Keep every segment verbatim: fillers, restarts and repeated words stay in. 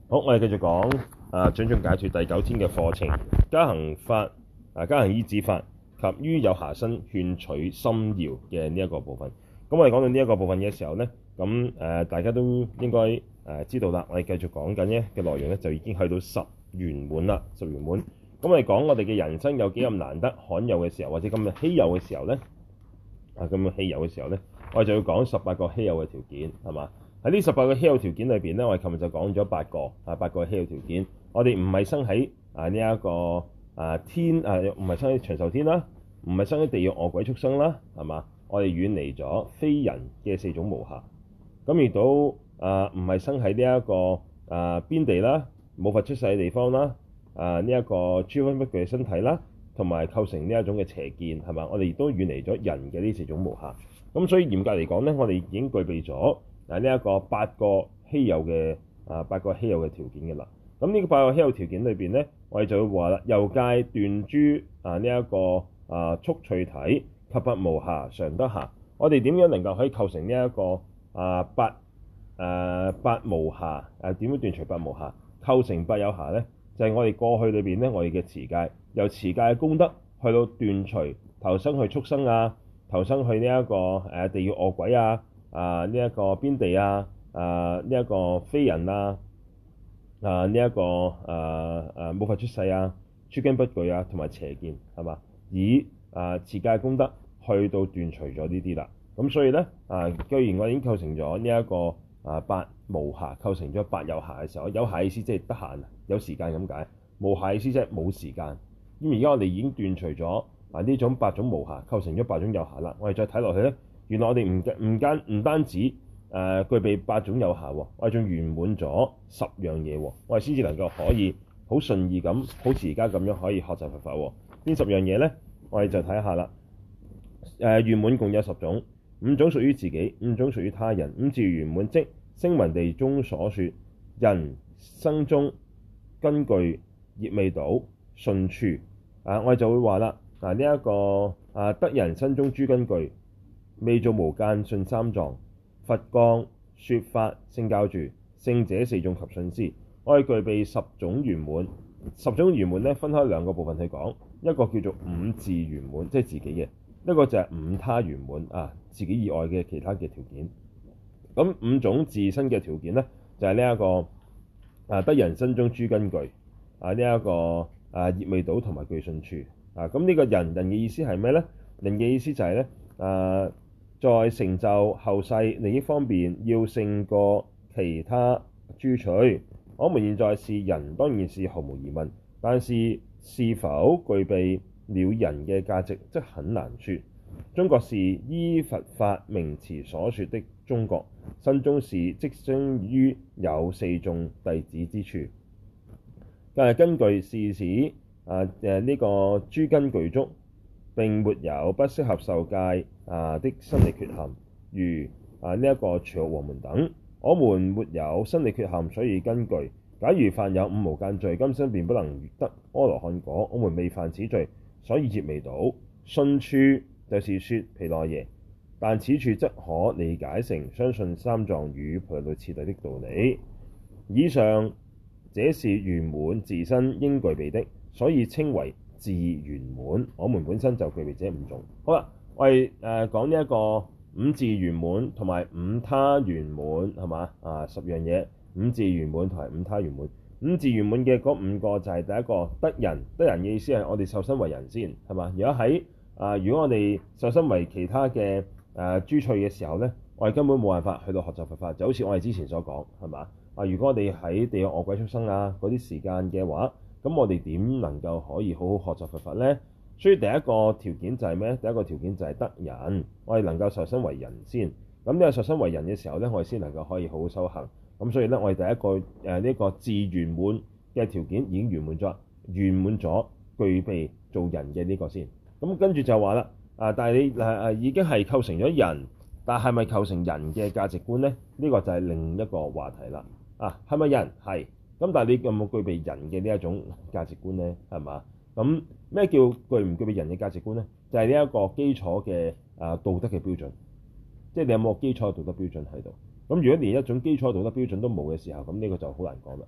好，我哋繼續講啊，掌中解脫第九天嘅課程，加行法啊，加行依止法及於有暇身勸取心要嘅呢一個部分。咁我哋講到呢一個部分嘅時候咧，咁誒、呃、大家都應該誒、呃、知道啦。我哋繼續講緊咧嘅內容咧，就已經去到十圓滿啦，十圓滿。咁我哋講我哋嘅人生有幾咁難得罕有嘅時候，或者咁嘅稀有嘅時候咧，啊咁嘅稀有嘅時候咧，我哋就要講十八個稀有嘅條件，係嘛？喺呢十八個稀有條件裏邊咧，我哋琴日就講咗八個啊，八個稀有條件。我哋唔係生喺啊呢一個啊天啊，唔係生喺長壽天啦，唔係生喺地獄餓鬼畜生啦，係嘛？我哋遠離咗非人嘅四種無暇，咁亦都啊唔係生喺呢一個啊邊地啦，冇佛出世嘅地方啦，啊呢一個諸分不具嘅身體啦，同埋構成呢一種嘅邪見，係嘛？我哋亦都遠離咗人嘅呢四種無暇。咁所以嚴格嚟講咧，我哋已經具備咗啊呢一個八個稀有嘅啊八個稀有嘅條件嘅啦。咁呢個八個稀有條件裏邊咧，我哋就會話啦，由戒斷諸啊呢一個啊速趣體及八無暇常得暇。我哋點樣能夠可以構成呢、這、一個啊八誒八無暇誒點樣斷除八無暇構成八有暇咧？就係、是、我哋過去裏邊咧，我哋嘅持戒由持戒嘅功德去到斷除投生去畜生啊，投生去呢、這、一個誒、啊、地獄餓鬼啊，啊呢一、這個邊地啊，啊呢一、這個非人啊，啊呢一、這個誒誒冇法出世啊，諸根不具啊，同埋邪見係嘛？以啊持戒功德去到斷除咗呢啲啦。咁所以咧啊，既然我已經構成咗呢一個啊八無暇，構成咗八有暇嘅時候，有暇意思即係得閒有時間咁解，無暇意思即係冇時間。咁而家我哋已經斷除咗啊呢種八種無暇，構成咗八種有暇啦。我哋再睇落去咧，原來我哋唔唔間唔單止誒、呃、具備八種有暇，我哋仲圓滿咗十樣嘢，我哋先至能夠可以好順意咁，好似而家咁樣可以學習佛法。邊十樣嘢咧？我哋就睇下啦。誒、呃、圓滿共有十種，五種屬於自己，五種屬於他人。五自圓滿即聲聞地中所說人生中根具業未倒順處。啊，我哋就會話啦，嗱呢一個啊得人身中諸根具，未造無間順三藏，佛降說法聖教住，聖者四眾及信施。我哋具備十種圓滿，十種圓滿咧分開兩個部分去講，一個叫做五自圓滿，即係自己嘅；一個就係五他圓滿啊，自己以外嘅其他嘅條件。咁五種自身嘅條件咧，就係呢一個啊得人身中諸根具啊呢一、這個啊業未倒同埋具順處啊。咁呢個人人嘅意思係咩咧？人嘅意思就係咧啊，在成就後世利益方面要勝過其他諸趣。我們現在是人，當然是毫無疑問，但是是否具備了人嘅價值，則很難說。中國是依佛法名詞所說的中國，身中是即生於有四眾弟子之處。但係根據是指啊誒呢個諸根具足，並沒有不適合受戒啊的生理缺陷，如啊呢一個隨學王門等。我們沒有生理缺陷，所以根具。假如犯有五無間罪，今生便不能得阿羅漢果。我們未犯此罪，所以業未倒。順處就是說毗奈耶，但此處則可理解成相信三藏與菩提道次第的道理。以上這是圓滿自身應具備的，所以稱為自圓滿。我們本身就具備這五種。好啦，我哋誒、呃、講呢一個五自圓滿同埋五他圓滿係嘛？啊十樣嘢，五自圓滿同埋五他圓滿。五自圓滿嘅嗰五個就係第一個得人，得人嘅意思係我哋受身為人先係嘛？如果喺啊、呃，如果我哋受身為其他嘅誒、呃、諸趣嘅時候咧，我哋根本冇辦法去到學習佛法，就好似我哋之前所講係嘛？啊，如果我哋喺地獄餓鬼畜生啊嗰啲時間嘅話，咁我哋點能夠可以好好學習佛法咧？所以第一個條件就係咩？第一個條件就係得人，我哋能夠受身為人先。咁呢個受身為人嘅時候咧，我哋先能夠可以好好修行。咁所以咧，我哋第一個誒呢、呃這個自圓滿嘅條件已經圓滿咗，圓滿咗具備做人嘅呢個先。咁跟住就話啦，啊，但係你誒誒、啊、已經係構成咗人，但係咪構成人嘅價值觀咧？呢、這個就係另一個話題啦。啊，係咪人係？咁但係你有冇具備人嘅呢一種價值觀咧？係嘛？咁咩叫具唔具備人嘅價值觀咧？就係呢一個基礎嘅啊道德嘅標準，即係你有冇基礎嘅道德標準喺度？咁如果連一種基礎道德標準都冇嘅時候，咁呢個就好難講啦，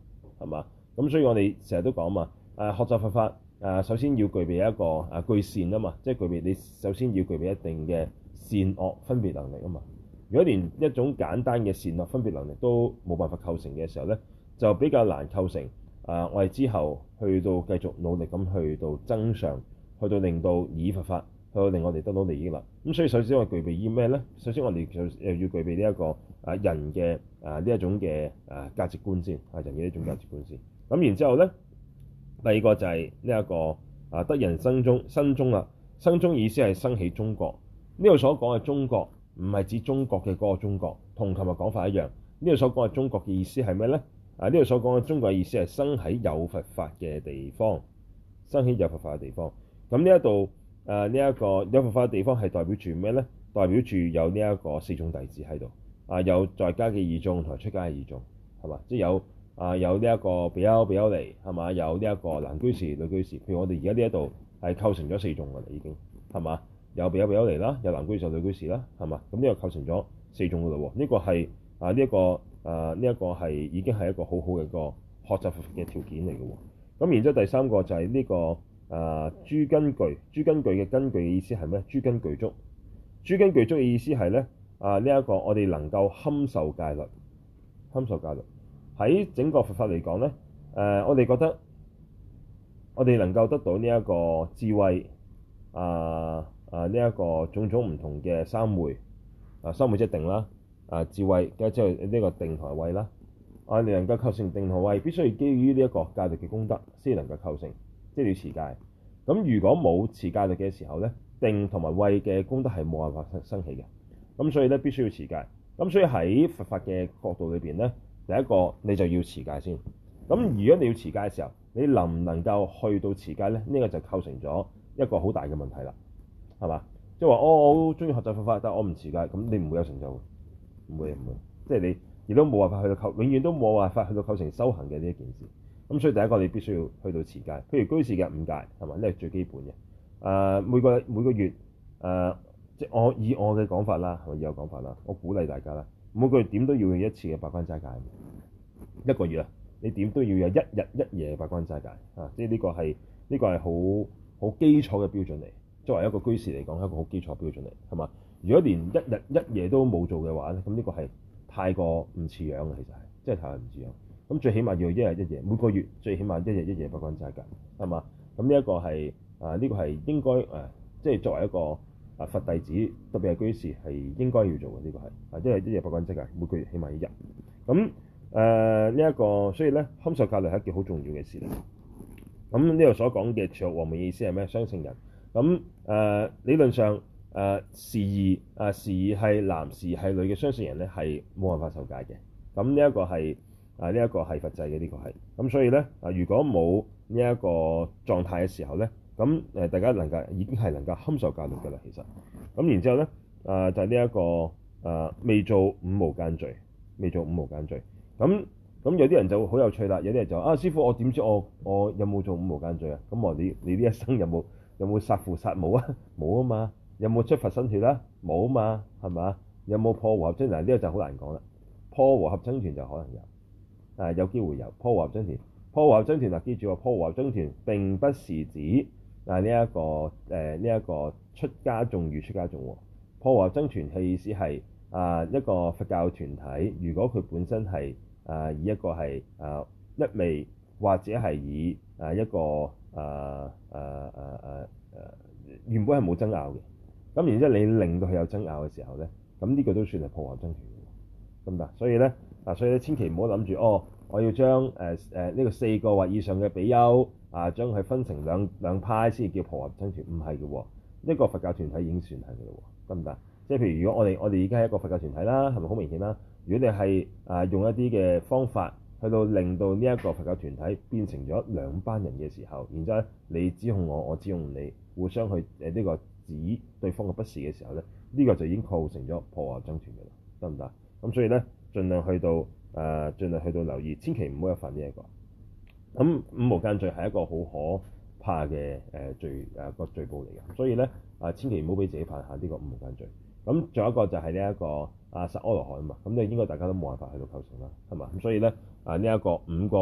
係嘛？咁所以我哋成日都講嘛，誒學習佛法誒首先要具備一個誒具善啊嘛，即係具備你首先要具備一定嘅善惡分別能力啊嘛。如果連一種簡單嘅善惡分別能力都冇辦法構成嘅時候咧，就比較難構成啊！我哋之後去到繼續努力咁去到增上，去到令到以佛法去到令我哋得到利益啦。咁所以首先我哋具備啲咩咧？首先我哋就誒要具備呢一個啊人嘅啊呢一種嘅啊價值觀先啊人嘅呢種價值觀先。咁然之後咧，第二個就係呢一個啊得人生中生中啦。生中意思係生起中國。呢度所講嘅中國唔係指中國嘅嗰個中國，同琴日講法一樣。呢度所講嘅中國嘅意思係咩咧？啊！呢度所講嘅中國嘅意思係生喺有佛法嘅地方，生喺有佛法嘅地方。咁呢一度誒呢一個有佛法嘅地方係代表住咩咧？代表住有呢一個四眾弟子喺度，啊有在家嘅二眾同埋出家嘅二眾，係嘛？即係有啊有呢一個比丘比丘尼係嘛？有呢一個男居士女居士。譬如我哋而家呢一度係構成咗四眾㗎啦，已經係嘛？有比丘比丘尼啦，有男居士有女居士啦，係嘛？咁呢個構成咗四眾㗎啦喎。呢個係啊呢一個。誒呢一個係已經係一個好好嘅一個學習佛法嘅條件嚟嘅喎。咁然之後第三個就係呢、這個誒、呃、諸根具。諸根具嘅根據嘅意思係咩？諸根具足。諸根具足嘅意思係咧啊呢一、這個我哋能夠堪受戒律，堪受戒律喺整個佛法嚟講咧誒，我哋覺得我哋能夠得到呢一個智慧啊啊呢一個種種唔同嘅三昧啊三昧即係定啦。啊智慧，跟住之後呢個定同慧啦。啊，你能夠構成定同慧，必須要基於呢一個戒律嘅功德先能夠構成，即係要持戒。咁如果冇持戒律嘅時候咧，定同埋慧嘅功德係冇辦法生生起嘅。咁所以咧必須要持戒。咁所以喺佛法嘅角度裏邊咧，第一個你就要持戒先。咁如果你要持戒嘅時候，你能唔能夠去到持戒咧？呢、這個就構成咗一個好大嘅問題啦，係嘛？即係話哦，我好中意學習佛法，但係我唔持戒，咁你唔會有成就。唔會唔會，即係你亦都冇辦法去到構，永遠都冇辦法去到構成修行嘅呢一件事。咁所以第一個你必須要去到持戒，譬如居士嘅五戒係嘛？呢係最基本嘅。誒、呃、每個每個月誒、呃，即係我以我嘅講法啦，係咪以我講法啦？我鼓勵大家啦，每個月點都要有一次嘅八關齋戒。一個月啊，你點都要有一日一夜嘅八關齋戒啊！即係呢個係呢、呢個係好好基礎嘅標準嚟。作為一個居士嚟講，係一個好基礎標準嚟，係嘛？如果連一日一夜都冇做嘅話咧，咁呢個係太過唔似樣嘅，其實係真係太過唔似樣。咁最起碼要一日一夜，每個月最起碼一日一夜八關齋戒，係嘛？咁呢一個係啊，呢、呢個係應該誒，即、啊、係、就是、作為一個啊佛弟子，特別係居士係應該要做嘅。呢、呢個係啊，即係一日八關齋戒，每個月起碼一日。咁誒呢一個，所以咧堪受戒律係一件好重要嘅事嚟。咁呢度所講嘅持學和命意思係咩？雙性人。咁誒、呃、理論上。誒、呃、時而誒時而係男時係女嘅雙性人咧係冇辦法受戒嘅。咁呢一個係啊呢一個係佛制嘅，呢個係咁，所以咧啊如果冇呢一個狀態嘅時候咧，咁誒大家能夠已經係能夠堪受戒律㗎啦。其實咁然之後咧啊就係呢一個啊未做五無間罪，未做五無間罪。咁咁有啲人就好有趣啦，有啲人就啊師父，我點知我我有冇做五無間罪啊？咁我你你呢一生有冇有冇殺父殺母啊？冇啊嘛。有冇出佛身血啦？冇啊嘛，係嘛？有冇破和合僧團？嗱，呢個就好難講啦。破和合僧團就可能有，啊有機會有破和合僧團。破和合僧團嗱，記住喎，破和合僧團並不是指啊呢一個誒呢一個出家眾與出家眾喎。破和合僧團嘅意思係啊一個佛教團體，如果佢本身係啊以一個係啊一味或者係以啊一個啊啊啊啊啊原本係冇爭拗嘅。咁然之後，你令到佢有爭拗嘅時候咧，咁呢個都算係破和合僧團嘅，得唔得？所以咧，啊，所以咧，千祈唔好諗住哦，我要將誒誒呢個四個或以上嘅比丘啊，將佢分成兩兩派先至叫破和合僧團，唔係嘅喎，一個佛教團體已經算係嘅咯，得唔得？即係譬如如果我哋我哋而家係一個佛教團體啦，係咪好明顯啦？如果你係啊用一啲嘅方法去到令到呢一個佛教團體變成咗兩班人嘅時候，然之後你指控我，我指控你，互相去誒呢、呃這個。指對方嘅不是嘅時候咧，呢、這個就已經構成咗破和合僧團嘅啦，得唔得？咁所以咧，盡量去到誒、呃，盡量去到留意，千祈唔好有犯呢、這、一個。咁五無間罪係一個好可怕嘅誒罪誒個罪報嚟嘅，所以咧啊，千祈唔好俾自己犯下呢個五無間罪。咁仲有一個就係呢一個啊殺阿羅漢啊嘛，咁你應該大家都冇辦法去到構成啦，係嘛？咁所以咧啊呢一、這個五個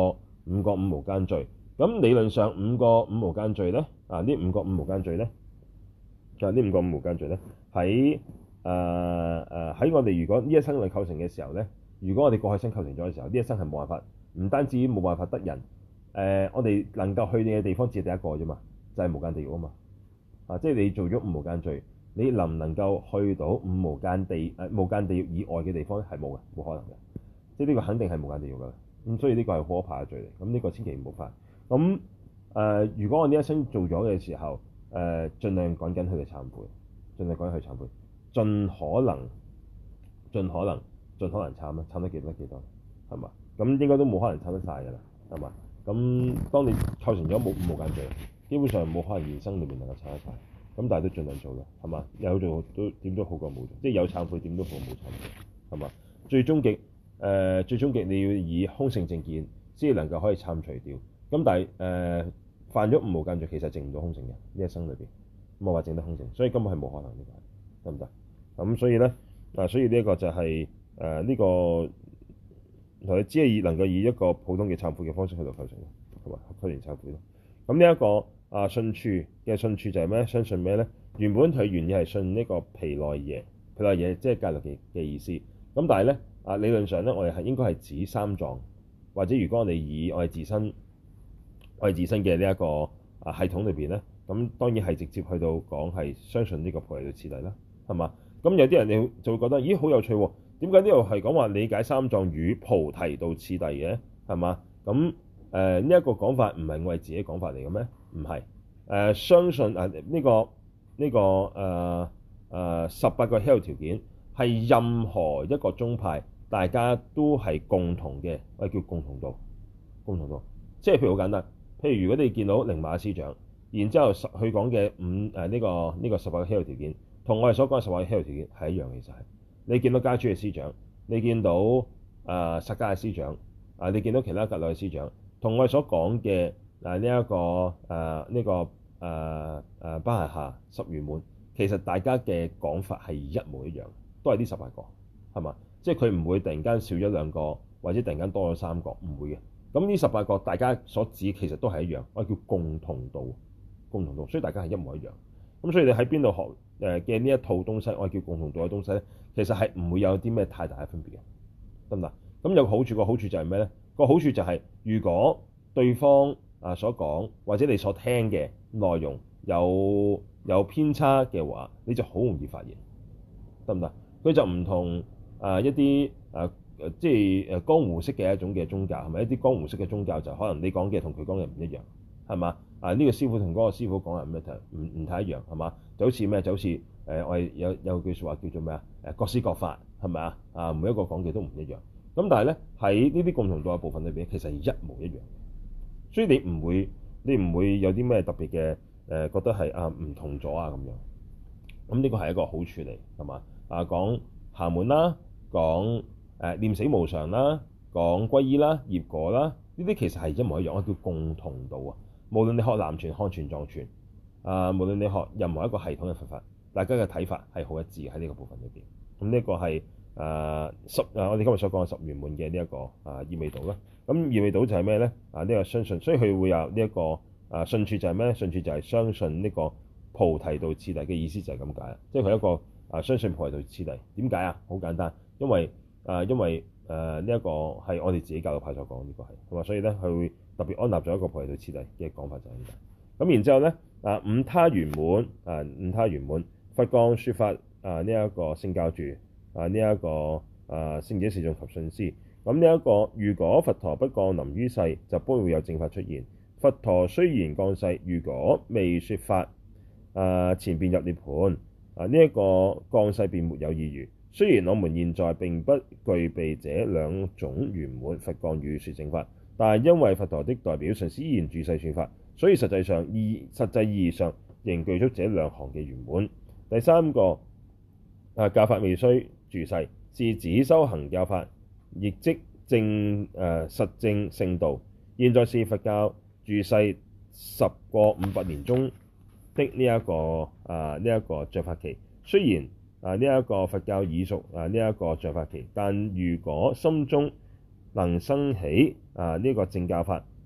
五個五無間罪。咁理論上五個五無間罪咧，啊呢五個五無間罪咧，就係呢五個五無間罪咧，喺誒誒喺我哋如果呢一生嚟構成嘅時候咧，如果我哋過去生構成咗嘅時候，呢一生係冇辦法，唔單止冇辦法得人，誒、呃、我哋能夠去嘅地方只係第一個啫嘛，就係、是、無間地獄啊嘛。啊，即係你做咗五無間罪，你能唔能夠去到五無間地誒、呃、無間地獄以外嘅地方咧？係冇嘅，冇可能嘅。即係呢個肯定係無間地獄㗎。咁所以呢個係可怕嘅罪嚟。咁呢個千祈唔好犯。咁誒、呃，如果我呢一生做咗嘅時候，誒、呃，盡量趕緊去嚟懺悔，盡量趕緊去懺悔，盡可能，盡可能，盡可能懺啦，懺得幾多幾多，係嘛？咁應該都冇可能懺得晒㗎啦，係嘛？咁當你構成咗冇無間罪，基本上冇可能現生裏面能夠懺得晒。咁但係都盡量做啦，係嘛？有做都點都好過冇做，即係有懺悔點都好過冇懺悔，係嘛？最終極誒、呃，最終極你要以空性正見先能夠可以懺除掉。咁但係誒、呃、犯咗五無間罪，其實證唔到空性嘅呢一生裏邊，冇話證得空性，所以根本係冇可能呢個，得唔得？咁所以咧啊，所以呢一個就係誒呢個同你只係以能夠以一個普通嘅懺悔嘅方式去到構成嘅，係嘛？構成懺悔咯。咁呢一個啊信處嘅信處就係咩？相信咩咧？原本佢原意係信呢個毗奈耶，毗奈耶即係戒律嘅嘅意思。咁但係咧啊理論上咧，我哋係應該係指三藏，或者如果我哋以我哋自身。我哋自身嘅呢一個啊系統裏邊咧，咁當然係直接去到講係相信呢個菩提道次第啦，係嘛？咁有啲人你就會覺得，咦好有趣喎？點解呢度係講話理解三藏與菩提道次第嘅？係嘛？咁誒呢一個講法唔係我哋自己講法嚟嘅咩？唔係誒，相信啊呢、這個呢、這個誒誒、呃呃、十八個 Health 條件係任何一個宗派大家都係共同嘅，我哋叫共同道，共同道，即係譬如好簡單。譬如如果你見到寧瑪師長，然之後佢講嘅五誒呢、呃這個呢、這個十八個 Health 條件，同我哋所講嘅十八個 Health 條件係一樣嘅，其實係。你見到家珠嘅師長，你見到誒薩迦嘅師長，啊你見到其他格魯嘅師長，同我哋所講嘅嗱呢一個誒呢、呃這個誒誒巴夏夏十圓滿，其實大家嘅講法係一模一樣，都係呢十八個，係嘛？即係佢唔會突然間少咗兩個，或者突然間多咗三個，唔會嘅。咁呢十八個大家所指其實都係一樣，我叫共同道，共同道，所以大家係一模一樣。咁所以你喺邊度學誒嘅呢一套東西，我叫共同道嘅東西咧，其實係唔會有啲咩太大嘅分別嘅，得唔得？咁有個好處，個好處就係咩咧？個好處就係如果對方啊所講或者你所聽嘅內容有有偏差嘅話，你就好容易發現，得唔得？佢就唔同啊一啲啊。誒即係誒江湖式嘅一種嘅宗教，係咪一啲江湖式嘅宗教就可能你講嘅同佢講嘅唔一樣，係嘛？啊呢、這個師傅同嗰個師傅講嘅唔一唔唔太一樣，係嘛？就好似咩？就好似誒、呃、我哋有有句説話叫做咩啊？誒各施各法，係咪啊？啊每一個講嘅都唔一樣。咁但係咧喺呢啲共同道嘅部分裏邊，其實係一模一樣。所以你唔會你唔會有啲咩特別嘅誒、呃、覺得係啊唔同咗啊咁樣。咁呢個係一個好處嚟，係嘛？啊講暇滿啦，講。誒念死無常啦，講皈依啦、業果啦，呢啲其實係一模一樣，我叫共同道啊。無論你學南傳、漢傳、藏傳，啊，無論你學任何一個系統嘅佛法，大家嘅睇法係好一致喺呢個部分裏邊。咁呢一個係誒十誒，我哋今日所講嘅十圓滿嘅呢一個啊意味道啦。咁意味道就係咩咧？啊呢、這個相信，所以佢會有呢、這、一個啊信處就係咩咧？信處就係相信呢個菩提道次第嘅意思就係咁解啦。即係佢一個啊相信菩提道次第。點解啊？好簡單，因為啊，因為誒呢一個係我哋自己教導派所講，呢個係係嘛，所以咧佢會特別安立咗一個菩提道次第嘅講法就係咁解。咁然之後咧啊，五他圓滿啊，五他圓滿，佛降説法啊，呢、這、一個聖教住啊，呢、這、一個啊聖者示眾及信施。咁呢一個如果佛陀不降臨於世，就不會有正法出現。佛陀雖然降世，如果未説法啊，前便入涅槃啊，呢、這、一個降世便沒有意義。雖然我們現在並不具備這兩種圓滿，佛降與說正法，但係因為佛陀的代表上師依然住世説法，所以實際上意實際意義上仍具足這兩項嘅圓滿。第三個啊，教法未須住世，是指修行教法，亦即正誒、呃、實證聖道。現在是佛教住世十個五百年中的呢、這、一個啊呢一個像法期，雖然啊！呢、這、一個佛教已屬啊呢一個像法期，但如果心中能生起啊呢、這個正教法，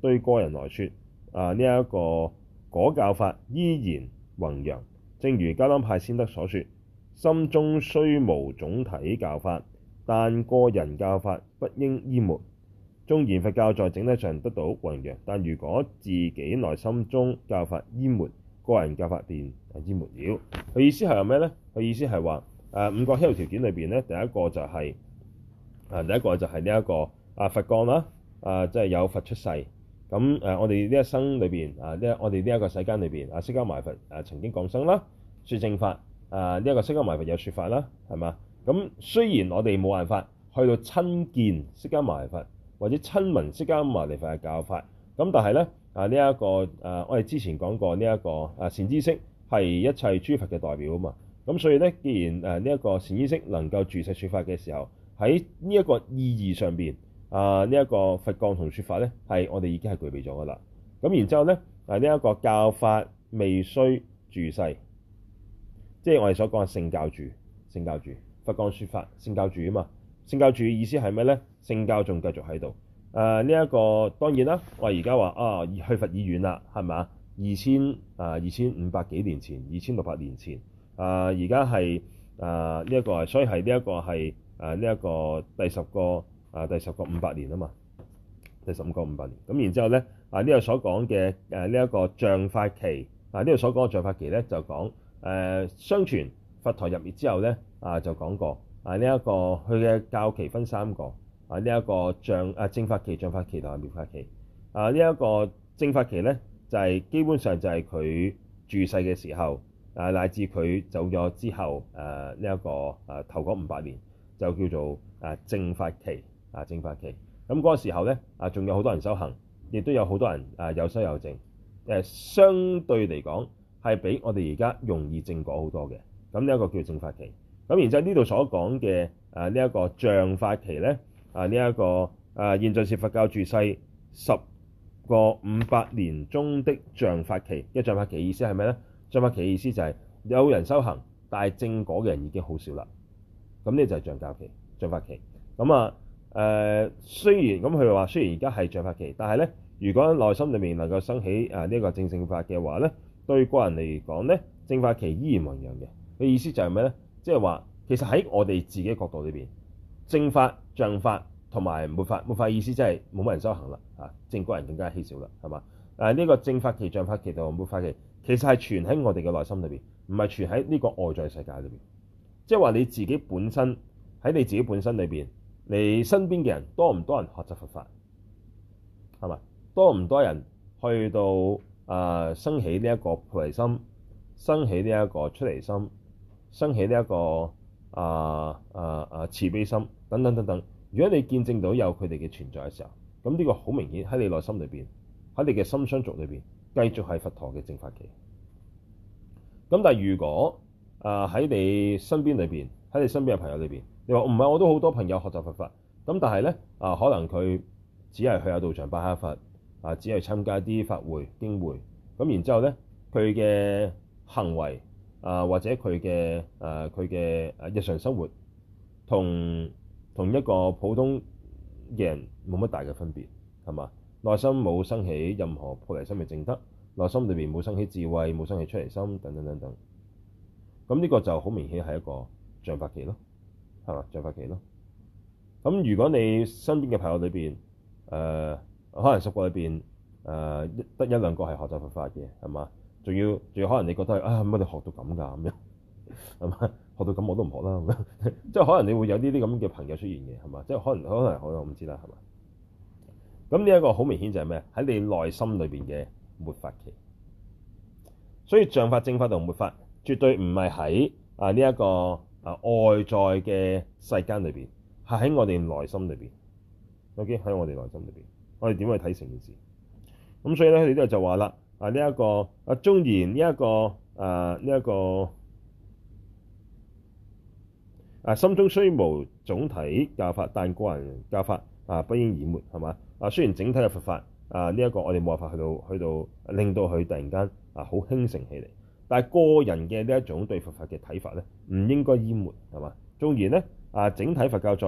對個人來說，啊呢一個果教法依然弘揚。正如噶當派先德所說：心中雖無總體教法，但個人教法不應淹沒。縱然佛教在整體上得到弘揚，但如果自己內心中教法淹沒，個人教法便淹沒了。佢意思係咩呢？佢意思係話誒五個希求條件裏邊咧，第一個就係、是、啊，第一個就係呢一個啊佛降啦，啊即係、就是、有佛出世。咁誒、啊，我哋呢一生裏邊啊，呢我哋呢一個世間裏邊啊，釋迦牟尼佛啊曾經降生啦，説正法啊，呢、這、一個釋迦牟尼佛有説法啦，係嘛？咁雖然我哋冇辦法去到親見釋迦牟尼佛，或者親聞釋迦牟尼佛嘅教法，咁但係咧啊呢一、這個誒、啊，我哋之前講過呢、這、一個啊善知識係一切諸佛嘅代表啊嘛。咁所以咧，既然誒呢一個善知識能夠住世説法嘅時候，喺呢一個意義上邊啊，呢、這、一個佛降同説法咧，係我哋已經係具備咗噶啦。咁然之後咧，啊呢一、這個教法未須住世，即係我哋所講嘅聖教住，聖教住佛降説法，聖教住啊嘛。聖教住意思係咩咧？聖教仲繼續喺度。誒呢一個當然啦，我而家話啊，去佛已遠啦，係咪？二千啊二千五百幾年前，二千六百年前。啊！而家係啊呢一個，所以係呢一個係啊呢一個第十個啊第十個五百年啊嘛，第十五個五百年。咁然之後咧啊呢度所講嘅誒呢一個像法期啊呢度所講嘅像法期咧就講誒、啊、相傳佛陀入滅之後咧啊就講過啊呢一個佢嘅教期分三個啊呢一個像啊正法期、像法期同埋滅法期啊呢一個正法期咧就係、是、基本上就係佢住世嘅時候。啊，乃至佢走咗之後，誒呢一個誒、啊、頭嗰五百年就叫做誒正法期，啊正法期。咁、那、嗰個時候咧，啊仲有好多人修行，亦都有好多人啊有修有證。誒、啊、相對嚟講係比我哋而家容易證果好多嘅。咁呢一個叫正法期。咁然之後呢度所講嘅誒呢一個像法期咧，啊呢一、這個誒、啊、現在是佛教住世十個五百年中的像法期。一像法期意思係咩咧？像法期嘅意思就係有人修行，但係證果嘅人已經好少啦。咁呢就係像教期、像法期。咁啊誒，雖然咁佢話，雖然而家係像法期，但係咧，如果內心裏面能夠生起啊呢一個正正法嘅話咧，對個人嚟講咧，正法期依然弘揚嘅。嘅意思就係咩咧？即係話其實喺我哋自己角度裏邊，正法、像法同埋末法，末法意思即係冇乜人修行啦，啊證果人更加稀少啦，係嘛？誒呢個正法期、像法期同埋末法期。其實係存喺我哋嘅內心裏邊，唔係存喺呢個外在世界裏邊。即係話你自己本身喺你自己本身裏邊，你身邊嘅人多唔多人學習佛法？係嘛？多唔多人去到啊、呃、生起呢一個菩提心，生起呢一個出離心，生起呢、這、一個啊啊啊慈悲心等等等等。如果你見證到有佢哋嘅存在嘅時候，咁呢個好明顯喺你內心裏邊，喺你嘅心相續裏邊。繼續係佛陀嘅正法期。咁但係如果啊喺、呃、你身邊裏邊，喺你身邊嘅朋友裏邊，你話唔係，我都好多朋友學習佛法。咁但係咧啊，可能佢只係去下道場拜下佛啊，只係參加啲法會經會。咁然之後咧，佢嘅行為啊，或者佢嘅誒佢嘅誒日常生活，同同一個普通嘅人冇乜大嘅分別，係嘛？內心冇生起任何菩提心嘅證德，內心裏邊冇生起智慧，冇生起出離心等等等等。咁呢個就好明顯係一個像法期咯，係嘛？像法期咯。咁如果你身邊嘅朋友裏邊，誒、呃、可能十個裏邊誒得一兩個係學習佛法嘅，係嘛？仲要仲要可能你覺得啊乜你學到咁㗎咁樣，係嘛？學到咁我都唔學啦咁樣，即係可能你會有呢啲咁嘅朋友出現嘅，係嘛？即係可能可能可能我唔知啦，係嘛？咁呢一個好明顯就係咩？喺你內心裏邊嘅末法期。所以像法、正法同末法絕對唔係喺啊呢一個啊外在嘅世間裏邊，係喺我哋內心裏邊。OK，喺我哋內心裏邊，我哋點去睇成件事？咁所以咧，佢哋都就話啦，啊呢一個啊縱然呢一個啊呢一個啊心中雖無總體教法，但個人教法啊不應淹沒，係嘛？啊，雖然整體嘅佛法啊，呢、這、一個我哋冇辦法去到去到令到佢突然間啊好興盛起嚟，但係個人嘅呢一種對佛法嘅睇法咧，唔應該淹沒，係嘛？縱然咧啊，整體佛教在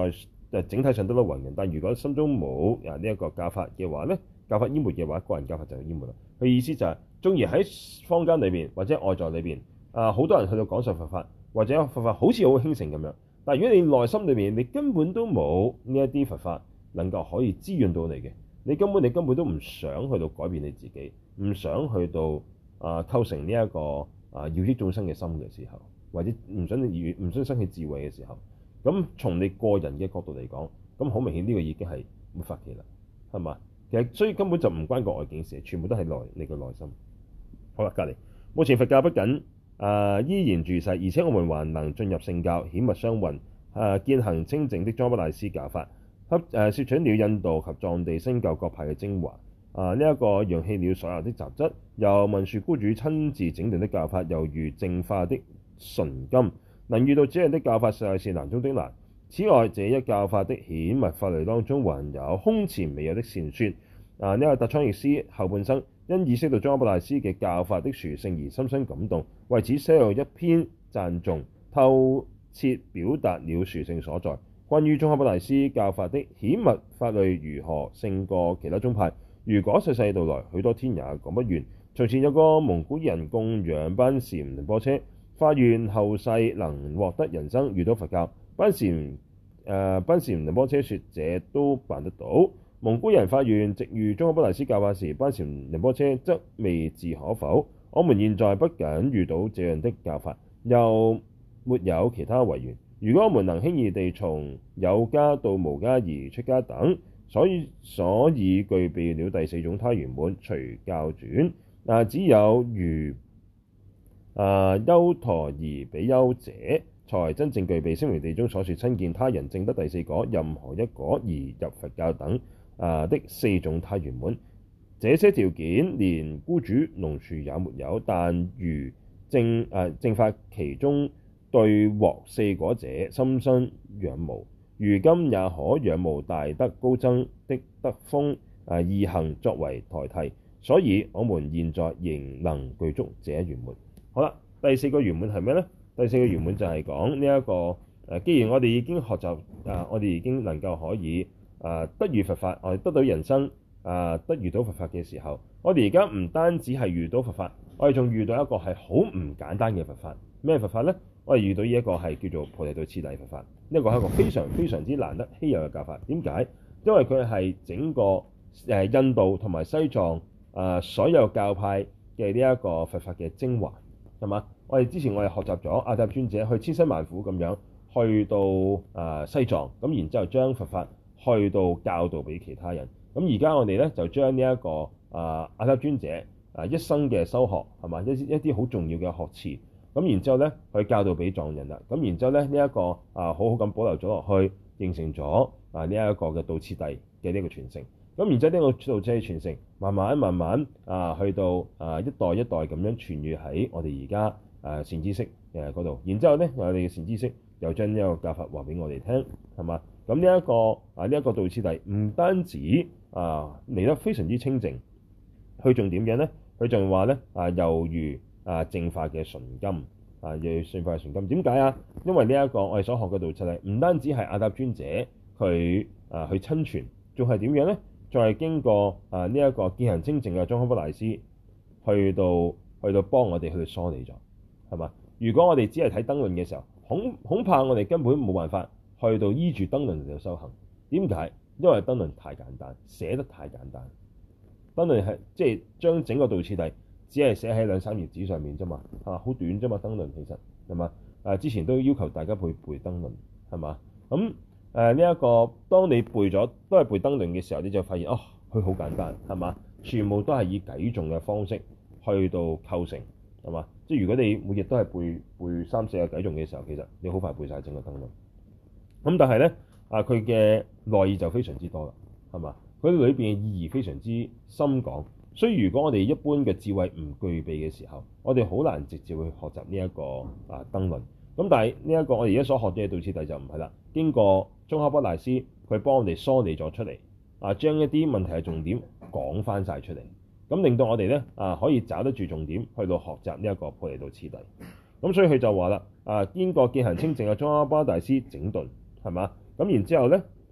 誒整體上得到雲人，但如果心中冇啊呢一個教法嘅話咧，教法淹沒嘅話，個人教法就淹沒啦。佢意思就係、是，縱然喺坊間裏邊或者外在裏邊啊，好多人去到講授佛法，或者佛法好似好興盛咁樣，但係如果你內心裏邊你根本都冇呢一啲佛法能夠可以滋潤到你嘅，你根本你根本都唔想去到改變你自己，唔想去到啊構成呢、這、一個啊要益眾生嘅心嘅時候，或者唔想與唔想生起智慧嘅時候，咁從你個人嘅角度嚟講，咁好明顯呢個已經係沒法期啦，係嘛？其實所以根本就唔關個外境事，全部都係內你個內心。好啦，隔離目前佛教不僅啊、呃、依然住世，而且我們還能進入聖教，顯密相混啊，見行清淨的宗喀巴大師教法，吸誒攝取了印度及藏地新教各派嘅精華啊，呢、這、一個揚棄了所有的雜質，由文殊怙主親自整頓的教法，猶如淨化的純金。能遇到這樣的教法，實在是難中的難。此外，這一教法的顯密法類當中，還有空前未有的善說。啊，呢、這個達倉譯師後半生因意識到宗喀巴大師嘅教法的殊勝而深深感動，為此寫有一篇讚頌，透徹表達了殊勝所在。關於宗喀巴大師教法的顯密法類如何勝過其他宗派，如果世世道來，許多天也講不完。從前有個蒙古人供養班禪仁波切，發願後世能獲得人身，遇到佛教。班禪誒班禪仁波切說：這都辦得到。蒙古人發願值遇宗喀巴大師教法時，班禪仁波切則未置可否。我們現在不僅遇到這樣的教法，又沒有其他違緣。如果我們能輕易地從有家到無家而出家等，所以所以具備了第四種他圓滿隨教轉。啊，只有如啊優陀夷比丘者，才真正具備聲聞地中所說親見他人證得第四果，任何一果而入佛教等啊的四種他圓滿。這些條件連怙主龍樹也沒有，但如正啊正法其中對獲四果者深深仰慕，如今也可仰慕大德高僧的德風啊義行作為台替，所以我們現在仍能具足這一圓滿。好啦，第四個圓滿係咩呢？第四個圓滿就係講呢一個誒，既然我哋已經學習啊，我哋已經能夠可以啊得遇佛法，我哋得到人身啊得遇到佛法嘅時候，我哋而家唔單止係遇到佛法，我哋仲遇到一個係好唔簡單嘅佛法。咩佛法呢？我哋遇到呢一個係叫做菩提道次第佛法，呢一個係一個非常非常之難得稀有嘅教法。點解？因為佢係整個誒印度同埋西藏啊所有教派嘅呢一個佛法嘅精華，係嘛？我哋之前我哋學習咗阿底峽尊者去千辛萬苦咁樣去到啊西藏，咁然之後將佛法去到教導俾其他人。咁而家我哋咧就將呢一個啊阿底峽尊者啊一生嘅修學係嘛，一一啲好重要嘅學詞。咁然之後咧，去教導俾藏人啦。咁然之後咧，呢、這、一個啊，好好咁保留咗落去，形成咗啊呢一個嘅道次第嘅呢個傳承。咁然之後呢個道次第傳承，慢慢慢慢啊，去到啊一代一代咁樣傳閱喺我哋而家啊善知識誒嗰度。然之後咧，我哋嘅善知識又將呢一個教法話俾我哋聽，係嘛？咁呢一個啊呢一、這個道次第唔單止啊嚟得非常之清淨，佢仲點樣咧？佢仲話咧啊，猶如啊，淨化嘅純金啊，要淨化嘅純金。點解啊？因為呢、這、一個我哋所學嘅道次第，唔單止係阿底峽尊者佢啊去親傳，仲係點樣咧？仲係經過啊呢一、這個見行清淨嘅宗喀巴大師去到去到幫我哋去梳理咗，係嘛？如果我哋只係睇燈論嘅時候，恐恐怕我哋根本冇辦法去到依住燈論嚟到修行。點解？因為燈論太簡單，寫得太簡單。燈論係即係將整個道次第。只係寫喺兩三頁紙上面啫嘛，啊，好短啫嘛，燈論其實係嘛？啊，之前都要求大家背背燈論係嘛？咁誒呢一個，當你背咗都係背燈論嘅時候，你就發現哦，佢好簡單係嘛？全部都係以偈頌嘅方式去到構成係嘛？即係如果你每日都係背背三四個偈頌嘅時候，其實你好快背晒整個燈論。咁但係咧啊，佢嘅內意就非常之多啦，係嘛？佢裏邊嘅意義非常之深廣。所以如果我哋一般嘅智慧唔具備嘅時候，我哋好難直接去學習呢一個啊燈論。咁但係呢一個我哋而家所學嘅道次第就唔係啦，經過宗喀巴大師佢幫我哋梳理咗出嚟，啊將一啲問題嘅重點講翻晒出嚟，咁令到我哋咧啊可以找得住重點去到學習呢一個菩提道次第。咁所以佢就話啦，啊經過見行清淨嘅宗喀巴大師整頓係嘛，咁然之後咧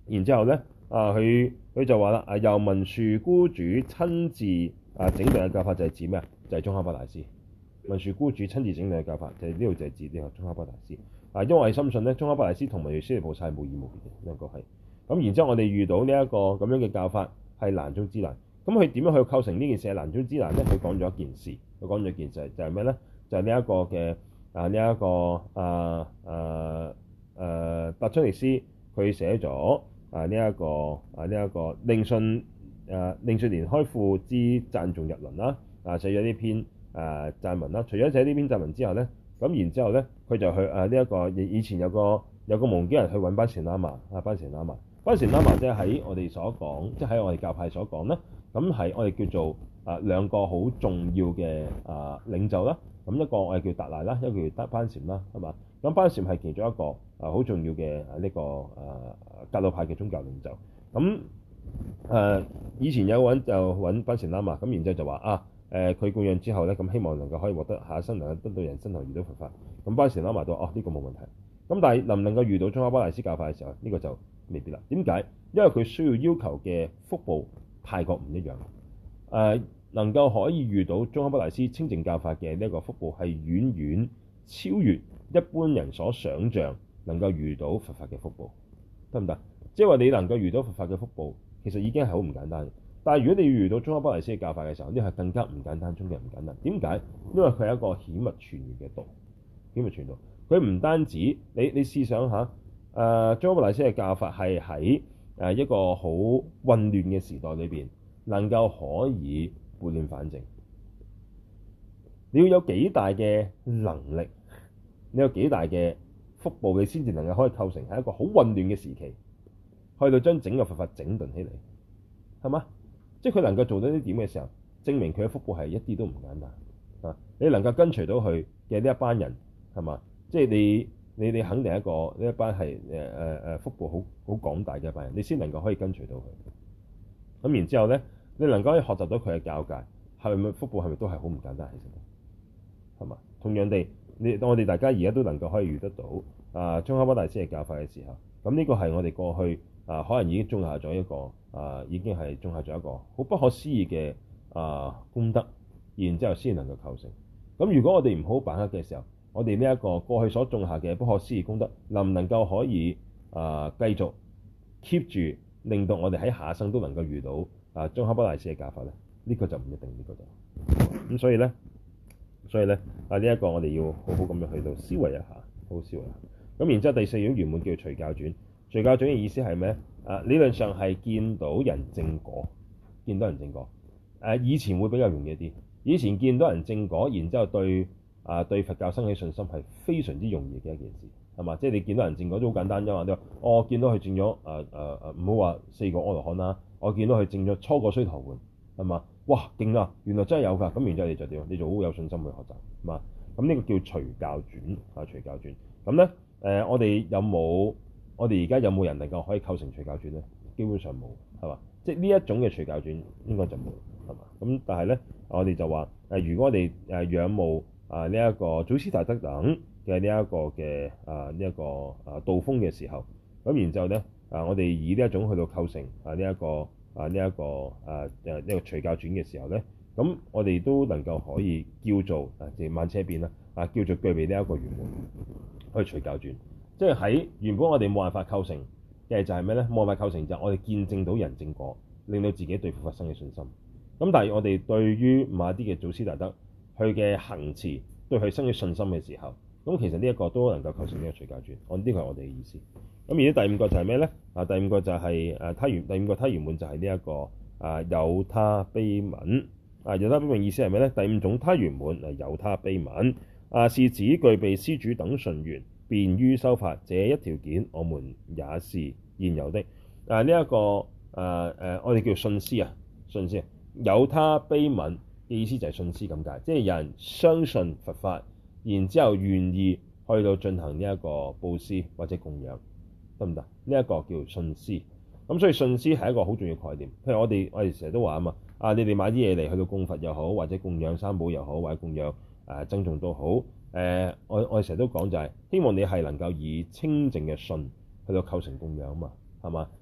然之後咧，啊佢佢就話啦，啊由文殊怙主親自啊整頓嘅教法就係指咩啊？就係、是、宗喀巴大師。文殊怙主親自整頓嘅教法就係呢度就係指呢個宗喀巴大師。啊，因為我係深信咧，宗喀巴大師同文殊師利菩薩係無異無別嘅兩個係。咁然之後我哋遇到呢一個咁樣嘅教法係難中之難。咁佢點樣去構成呢件事係難中之難咧？佢講咗一件事，佢講咗一件事就係咩咧？就係呢一個嘅啊呢一、這個啊啊啊達昌尼師佢寫咗啊呢一、這個啊呢一、這個令信啊令信連開庫之讚頌日輪啦，啊寫咗呢篇啊讚文啦。除咗寫呢篇讚文之後咧，咁然之後咧佢就去啊呢一個以以前有個有個蒙基人去揾班禪喇嘛啊班禪喇嘛班禪喇嘛即係喺我哋所講，即係喺我哋教派所講咧。咁係我哋叫做啊兩個好重要嘅啊領袖啦。咁一個我哋叫達賴啦，一個叫班禪啦，係嘛？咁班禪係其中一個啊好重要嘅啊呢個啊格魯派嘅宗教領袖。咁誒、啊、以前有個人就揾班禪喇嘛，咁然之後就話啊誒佢供養之後咧，咁希望能夠可以獲得下一生能夠得到人身同遇到佛法。咁班禪喇嘛都話哦呢、這個冇問題。咁但係能唔能夠遇到宗喀巴大師教法嘅時候，呢、這個就未必啦。點解？因為佢需要要求嘅福報太過唔一樣，誒、呃、能夠可以遇到宗喀巴大師清淨教法嘅呢一個福報係遠遠超越一般人所想像能夠遇到佛法嘅福報，得唔得？即係話你能夠遇到佛法嘅福報，其實已經係好唔簡單。但係如果你要遇到宗喀巴大師嘅教法嘅時候，呢係更加唔簡單中嘅唔簡單。點解？因為佢係一個顯密傳語嘅道，顯密傳道。佢唔單止你你試想下，誒宗喀巴大師嘅教法係喺誒一個好混亂嘅時代裏邊，能夠可以撥亂反正。你要有幾大嘅能力，你有幾大嘅福報，你先至能夠可以構成喺一個好混亂嘅時期，去到將整個佛法整頓起嚟，係嘛？即係佢能夠做到呢點嘅時候，證明佢嘅福報係一啲都唔簡單啊！你能夠跟隨到佢嘅呢一班人，係嘛？即係你。你你肯定一個呢一班係誒誒誒福報好好廣大嘅一班人，你先能夠可以跟隨到佢。咁然之後咧，你能夠可以學習到佢嘅教誡，係咪福報係咪都係好唔簡單？其實係嘛？同樣地，你當我哋大家而家都能夠可以遇得到啊宗喀巴大師嘅教法嘅時候，咁呢個係我哋過去啊可能已經種下咗一個啊已經係種下咗一個好不可思議嘅啊功德，然之後先能夠構成。咁如果我哋唔好把握嘅時候，我哋呢一個過去所種下嘅不可思議功德，能唔能夠可以啊、呃、繼續 keep 住，令到我哋喺下一生都能夠遇到啊宗喀巴大師嘅教法咧？呢、這個就唔一定，呢、這個就咁，所以咧，所以咧啊呢一、這個我哋要好好咁樣去到思維一下，好好思維一下。咁然之後第四種圓滿叫隨教轉，隨教轉嘅意思係咩？啊理論上係見到人證果，見到人證果。誒、啊、以前會比較容易啲，以前見到人證果，然之後對。啊，對佛教生起信心係非常之容易嘅一件事，係嘛？即係你見到人證果都好簡單啫嘛。你話我見到佢證咗誒誒誒，唔好話四個阿羅漢啦，我見到佢證咗初果須陀洹，係嘛？哇，勁啊！原來真係有㗎。咁然之後你就點？你就好有信心去學習，係嘛？咁呢個叫隨教轉啊，隨教轉。咁咧誒，我哋有冇？我哋而家有冇人能夠可以構成隨教轉咧？基本上冇，係嘛？即係呢一種嘅隨教轉應該就冇，係嘛？咁但係咧，我哋就話誒、呃，如果我哋誒仰慕。啊！呢、這、一個祖師大德等嘅呢一個嘅啊呢一、這個啊道風嘅時候，咁然之後咧啊，我哋以呢一種去到構成啊呢一、這個啊呢一、這個啊誒呢、這個隨教轉嘅時候咧，咁我哋都能夠可以叫做啊即係萬車變啦啊，叫做具備呢一個圓滿去隨教轉，即係喺原本我哋冇辦法構成嘅就係咩咧？冇辦法構成就係我哋見證到人證果，令到自己對佛法生嘅信心。咁但係我哋對於某一啲嘅祖師大德，佢嘅行持對佢生起信心嘅時候，咁其實呢一個都能夠構成呢個隨教轉。我呢個係我哋嘅意思。咁而家第五個就係咩咧？啊，第五個就係誒他圓，第五個他圓滿就係呢一個啊有他悲憫。啊有他悲憫意思係咩咧？第五種他圓滿係有他悲憫。啊是指具備施主等順緣，便於修法，這一條件我們也是現有的。啊呢一、這個誒誒、啊啊、我哋叫信施啊，信施有他悲憫。嘅意思就係信施咁解，即係有人相信佛法，然之後願意去到進行呢一個佈施或者供養，得唔得？呢、這、一個叫信施。咁所以信施係一個好重要概念。譬如我哋我哋成日都話啊嘛，啊你哋買啲嘢嚟去到供佛又好，或者供養三寶又好，或者供養誒僧眾都好。誒、呃、我我哋成日都講就係希望你係能夠以清淨嘅信去到構成供養啊嘛，係嘛？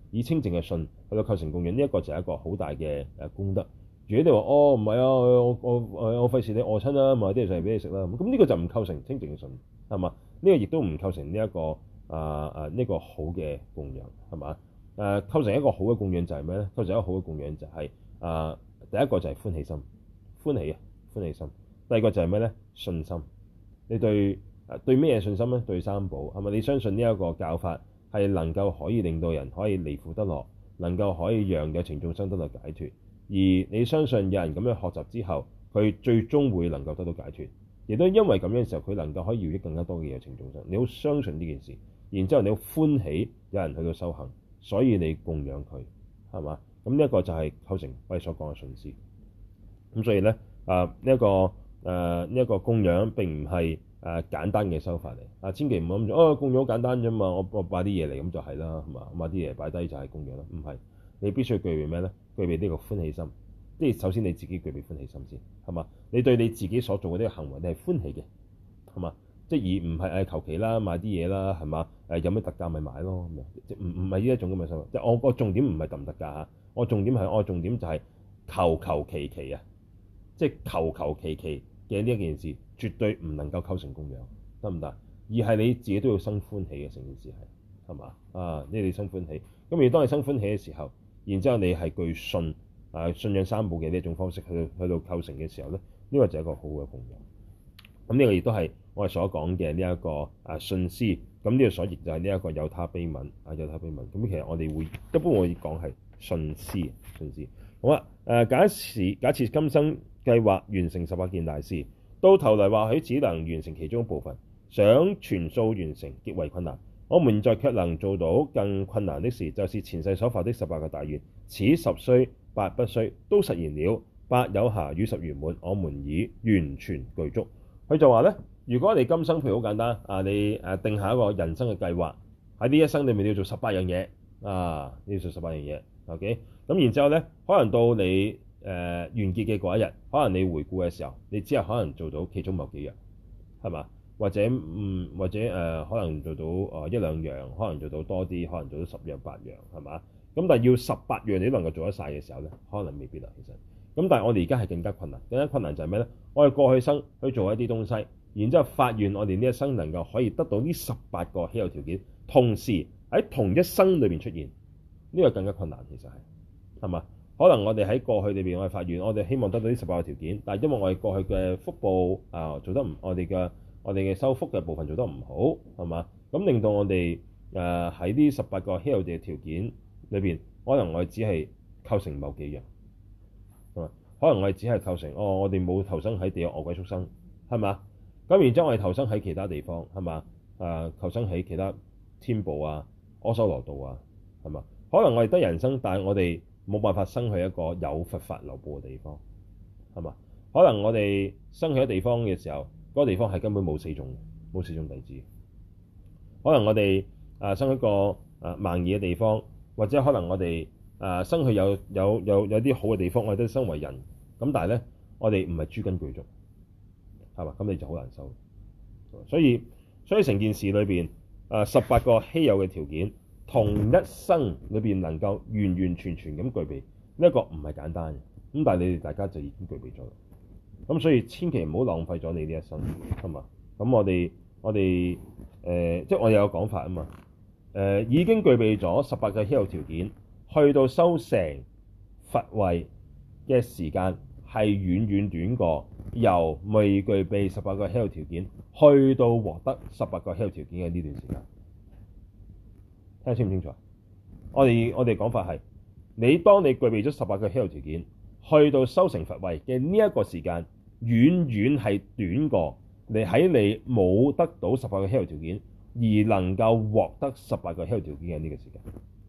以清淨嘅信去到構成供養，呢、這、一個就係一個好大嘅誒功德。如果你話哦唔係啊，我我我我費事你餓親啦，買啲嘢上嚟俾你食啦，咁呢個就唔構成清淨嘅信，係嘛？呢、這個亦都唔構成呢、這、一個啊啊呢個好嘅供養，係嘛？誒、啊、構成一個好嘅供養就係咩咧？構成一個好嘅供養就係、是、啊第一個就係歡喜心，歡喜啊歡喜心。第二個就係咩咧？信心。你對誒對咩嘢信心咧？對三寶係咪？你相信呢一個教法係能夠可以令到人可以離苦得樂，能夠可以讓有情眾生得到解脫。而你相信有人咁樣學習之後，佢最終會能夠得到解脫，亦都因為咁樣嘅時候，佢能夠可以饒益更加多嘅有情眾生。你好相信呢件事，然之後你好歡喜有人去到修行，所以你供養佢，係嘛？咁呢一個就係構成我哋所講嘅信施。咁所以咧，啊呢一個誒呢一個供養並唔係誒簡單嘅修法嚟。啊，千祈唔好諗住哦，供養好簡單啫嘛，我我擺啲嘢嚟咁就係啦，係嘛？買啲嘢擺低就係供養啦，唔係。你必須要具備咩咧？具備呢個歡喜心，即係首先你自己具備歡喜心先，係嘛？你對你自己所做嘅呢個行為，你係歡喜嘅，係嘛？即係而唔係誒求其啦，買啲嘢啦，係嘛？誒有咩特價咪買咯，咁樣即係唔唔係呢一種咁嘅心。即係我個重點唔係特唔特價嚇，我重點係我重點就係求求其其啊，即係求求其其嘅呢一件事，絕對唔能夠構成供養，得唔得？而係你自己都要生歡喜嘅，成件事係係嘛？啊，呢你生歡喜，咁而當你生歡喜嘅時候，然之後你係具信啊信仰三寶嘅呢一種方式去到去到構成嘅時候咧，呢、這個就係一個好嘅供養。咁呢個亦都係我哋所講嘅呢一個啊信施。咁呢個所譯就係呢一個有他悲憫啊有他悲憫。咁其實我哋會一般會講係信施信施。好啦，誒、啊、假設假設今生計劃完成十八件大事，到頭來或許只能完成其中一部分，想全數完成極為困難。我們在卻能做到更困難的事，就是前世所發的十八個大願，此十須八不須都實現了，八有暇與十圓滿，我們已完全具足。佢就話咧，如果你今生譬如好簡單啊，你誒定下一個人生嘅計劃，喺呢一生裏面你要做十八樣嘢啊，你要做十八樣嘢 ，OK？咁然之後咧，可能到你誒、呃、完結嘅嗰一日，可能你回顧嘅時候，你只係可能做到其中某幾樣，係嘛？或者嗯，或者誒、呃，可能做到誒、呃、一兩樣，可能做到多啲，可能做到十樣八樣，係嘛？咁但係要十八樣你都能夠做得晒嘅時候咧，可能未必啦。其實，咁但係我哋而家係更加困難，更加困難就係咩咧？我哋過去生去做一啲東西，然之後發願我哋呢一生能夠可以得到呢十八個稀有條件，同時喺同一生裏邊出現，呢、這個更加困難。其實係係嘛？可能我哋喺過去裏邊我哋發願，我哋希望得到呢十八個條件，但係因為我哋過去嘅福報啊、呃、做得唔，我哋嘅我哋嘅修福嘅部分做得唔好，係嘛？咁令到我哋誒喺呢十八個稀有嘅條件裏邊，可能我哋只係構成某幾樣，係嘛？可能我哋只係構成哦，我哋冇投生喺地獄餓鬼畜生，係嘛？咁然之後我哋投生喺其他地方，係嘛？誒、呃、投生喺其他天部啊、阿修羅道啊，係嘛？可能我哋得人生，但係我哋冇辦法生去一個有佛法流布嘅地方，係嘛？可能我哋生喺一地方嘅時候，嗰、那個地方係根本冇四種，冇四種弟子。可能我哋啊生喺個啊盲耳嘅地方，或者可能我哋啊生去有有有有啲好嘅地方，我哋都生為人。咁但係咧，我哋唔係諸根具足，係嘛？咁你就好難收。所以所以成件事裏邊啊十八個稀有嘅條件，同一生裏邊能夠完完全全咁具備，呢一個唔係簡單嘅。咁但係你哋大家就已經具備咗。咁所以千祈唔好浪費咗你呢一生，係嘛？咁我哋我哋誒、呃，即係我哋有講法啊嘛。誒、呃、已經具備咗十八個稀有條件，去到修成佛位嘅時間係遠遠短過由未具備十八個稀有條件去到獲得十八個稀有條件嘅呢段時間。聽得清唔清楚？我哋我哋講法係，你當你具備咗十八個稀有條件，去到修成佛位嘅呢一個時間，遠遠係短過你喺你冇得到十八個稀有條件而能夠獲得十八個稀有條件嘅呢個時間。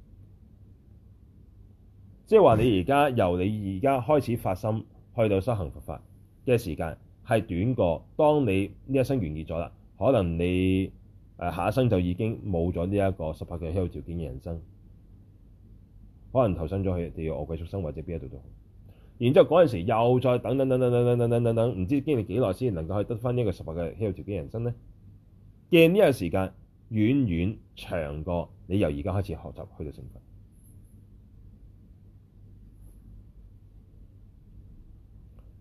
即係話你而家由你而家開始發心去到修行佛法嘅時間係短過當你呢一生完結咗啦，可能你誒下一生就已經冇咗呢一個十八個稀有條件嘅人生，可能投身咗去地獄餓鬼畜生或者邊一度都好。然之後嗰陣時又再等等等等等等等等等等，唔知經歷幾耐先能夠可以得翻呢個十八個稀有條件人生咧？嘅呢個時間遠遠長過你由而家開始學習去到成佛。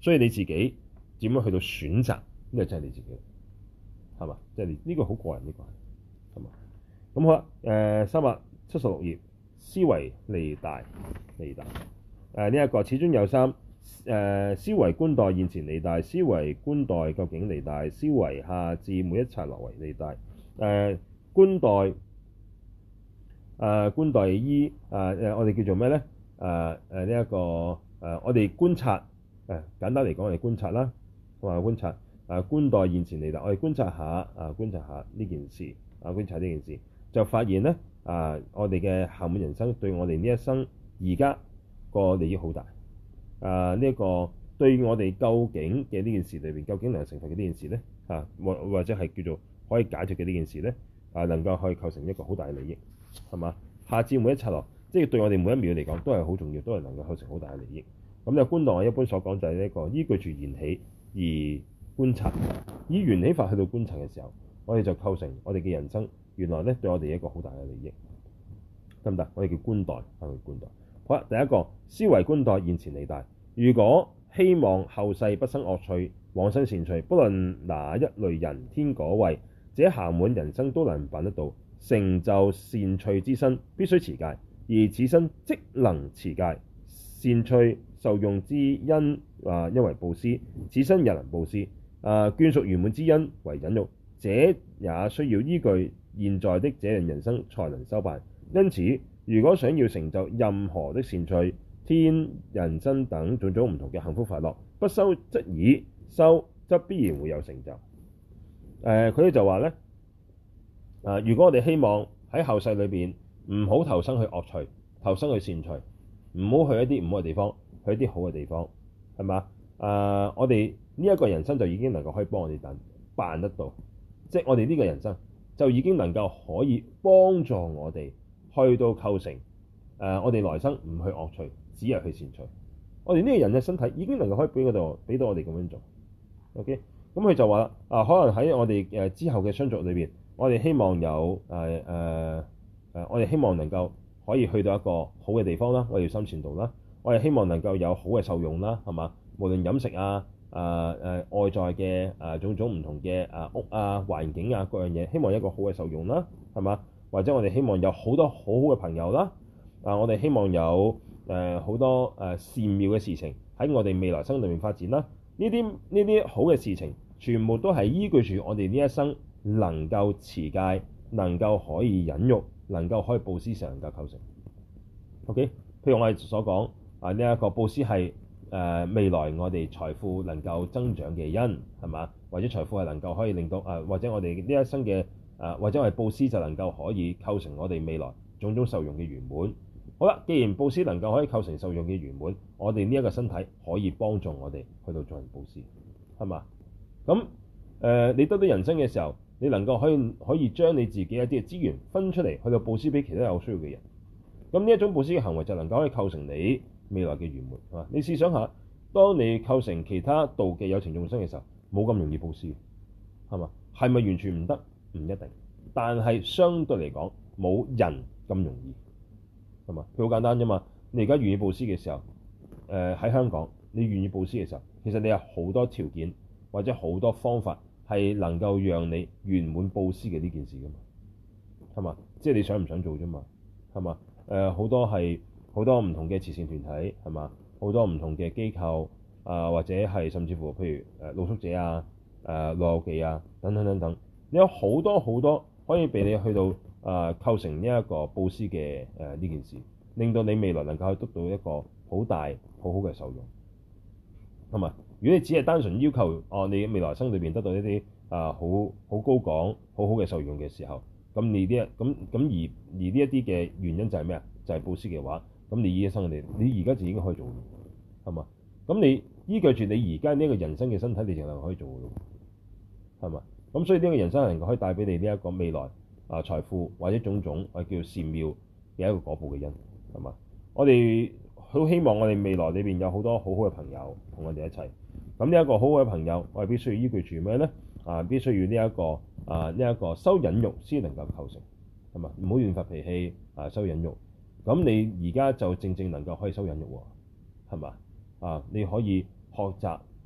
所以你自己點樣去到選擇，呢個真係你自己，係嘛？即係你呢個好個人，呢個係，係嘛？咁好啦，誒三百七十六頁，思惟利大，利大誒呢一個此中有三。誒、呃、思惟觀待現前利大，思惟觀待究竟利大，思惟下至每一剎那為利大。誒、呃、觀待誒、呃、觀待依誒誒、呃、我哋叫做咩咧？誒誒呢一個誒、呃、我哋觀察誒、呃、簡單嚟講，我哋觀察啦，同埋觀察誒、呃、觀待現前利大，我哋觀察下啊、呃、觀察下呢件事啊、呃、觀察呢件事，就發現咧啊、呃、我哋嘅暇滿人生對我哋呢一生而家個利益好大。啊！呢、這、一個對我哋究竟嘅呢件事裏邊，究竟能夠成佛嘅呢件事咧，啊或或者係叫做可以解決嘅呢件事咧，啊能夠可以構成一個好大嘅利益，係嘛？下至每一剎那，即係對我哋每一秒嚟講都係好重要，都係能夠構成好大嘅利益。咁呢個觀待我一般所講就係呢一個依據住緣起而觀察，以緣起法去到觀察嘅時候，我哋就構成我哋嘅人生原來咧對我哋一個好大嘅利益，得唔得？我哋叫觀待，係咪觀待？好啦，第一個思惟觀待現前利大。如果希望後世不生惡趣，往生善趣，不論哪一類人天果位，這暇滿人生都能辦得到。成就善趣之身，必須持戒，而此身即能持戒。善趣受用之因啊，因為布施，此身也能布施。啊，眷屬圓滿之因為忍辱，這也需要依據現在的這樣人生才能修辦。因此，如果想要成就任何的善趣、天、人身等種種唔同嘅幸福快樂，不修則已，修則必然會有成就。誒、呃，佢哋就話咧，啊、呃，如果我哋希望喺後世裏邊唔好投生去惡趣，投生去善趣，唔好去一啲唔好嘅地方，去一啲好嘅地方，係嘛？啊、呃，我哋呢一個人生就已經能夠可以幫我哋等辦得到，即係我哋呢個人生就已經能夠可以幫助我哋去到構成誒、呃，我哋來生唔去惡趣，只係去善趣。我哋呢個人嘅身體已經能夠可以俾嗰度俾到我哋咁樣做。OK，咁佢就話啦，啊，可能喺我哋誒之後嘅相續裏邊，我哋希望有誒誒誒，我哋希望能夠可以去到一個好嘅地方啦，我哋要心善道啦，我哋希望能夠有好嘅受用啦，係嘛？無論飲食啊、誒、呃、誒外在嘅誒、呃、種種唔同嘅誒屋啊、環境啊各樣嘢，希望一個好嘅受用啦，係嘛？或者我哋希望有好多好好嘅朋友啦，啊，我哋希望有誒好、呃、多誒、呃、善妙嘅事情喺我哋未來生裏面發展啦。呢啲呢啲好嘅事情，全部都係依據住我哋呢一生能夠持戒、能夠可以忍辱、能夠可以布施上能夠構成。OK，譬如我哋所講啊，呢、這、一個布施係誒未來我哋財富能夠增長嘅因，係嘛？或者財富係能夠可以令到啊、呃，或者我哋呢一生嘅啊、呃，或者我哋布施就能夠可以構成我哋未來種種受用嘅圓滿。好啦，既然布施能夠可以構成受用嘅圓滿，我哋呢一個身體可以幫助我哋去到進行布施，係嘛？咁誒、呃，你得到人生嘅時候，你能夠可以可以將你自己一啲嘅資源分出嚟去到布施俾其他有需要嘅人。咁呢一種布施嘅行為就能夠可以構成你未來嘅圓滿，係嘛？你試想下，當你構成其他道嘅有情眾生嘅時候，冇咁容易布施，係嘛？係咪完全唔得？唔一定，但係相對嚟講，冇人咁容易。係嘛？佢好簡單啫嘛。你而家願意布施嘅時候，誒、呃、喺香港，你願意布施嘅時候，其實你有好多條件或者好多方法係能夠讓你圓滿布施嘅呢件事噶嘛。係嘛？即係你想唔想做啫嘛？係嘛？誒、呃、好多係好多唔同嘅慈善團體，係嘛？好多唔同嘅機構啊、呃，或者係甚至乎譬如誒露宿者啊、誒老友記啊等等等等，你有好多好多可以俾你去到。啊、呃，構成呢一個布施嘅誒呢件事，令到你未來能夠去得到一個好大好好嘅受用，係嘛？如果你只係單純要求哦、呃，你未來生裏邊得到一啲啊好好高廣好好嘅受用嘅時候，咁你呢咁咁而而呢一啲嘅原因就係咩啊？就係、是、布施嘅話，咁你呢一生你你而家就已經可以做，係嘛？咁你依據住你而家呢一個人生嘅身體，你就能可以做嘅咯，係嘛？咁所以呢個人生係能夠可以帶俾你呢一個未來。啊！財富或者種種我叫善妙嘅一個果報嘅因，係嘛？我哋好希望我哋未來裏邊有好多好好嘅朋友同我哋一齊。咁呢一個好好嘅朋友，我哋必須要依據住咩咧？啊，必須要呢、這、一個啊呢一、這個修忍辱先能夠構成，係嘛？唔好亂發脾氣啊！修忍辱，咁你而家就正正能夠可以修忍辱喎，係嘛？啊，你可以學習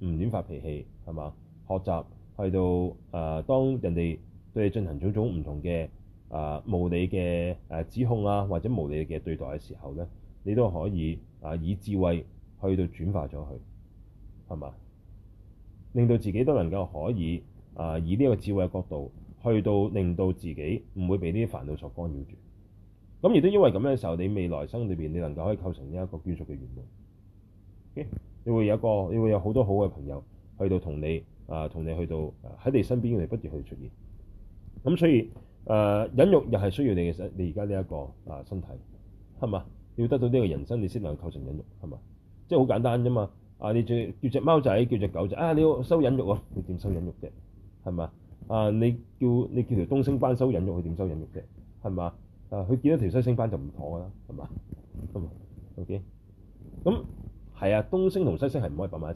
唔亂發脾氣，係嘛？學習去到誒、呃，當人哋對你進行種種唔同嘅誒、呃、無理嘅誒指控啊，或者無理嘅對待嘅時候咧，你都可以啊、呃、以智慧去到轉化咗佢，係嘛？令到自己都能夠可以啊、呃、以呢一個智慧嘅角度去到令到自己唔會被呢啲煩惱所干擾住。咁亦都因為咁樣嘅時候，你未來生裏邊你能夠可以構成呢一個眷屬嘅緣分。Okay? 你會有一個，你會有好多好嘅朋友去到同你啊，同、呃、你去到喺你身邊嚟不斷去出現。咁所以誒、呃，忍辱又係需要你嘅身，你而家呢一個啊、呃、身體係嘛？要得到呢個人生，你先能夠構成忍辱係嘛？即係好簡單啫嘛。啊，你叫叫隻貓仔，叫隻狗仔啊，你要收忍辱啊，你點收忍辱啫？係嘛？啊，你叫你叫條東星斑收忍辱，佢點收忍辱啫？係嘛？啊，佢見到條西星斑就唔妥㗎啦，係嘛？係嘛 ？OK，咁係啊，東星同西星係唔可以擺埋一齊，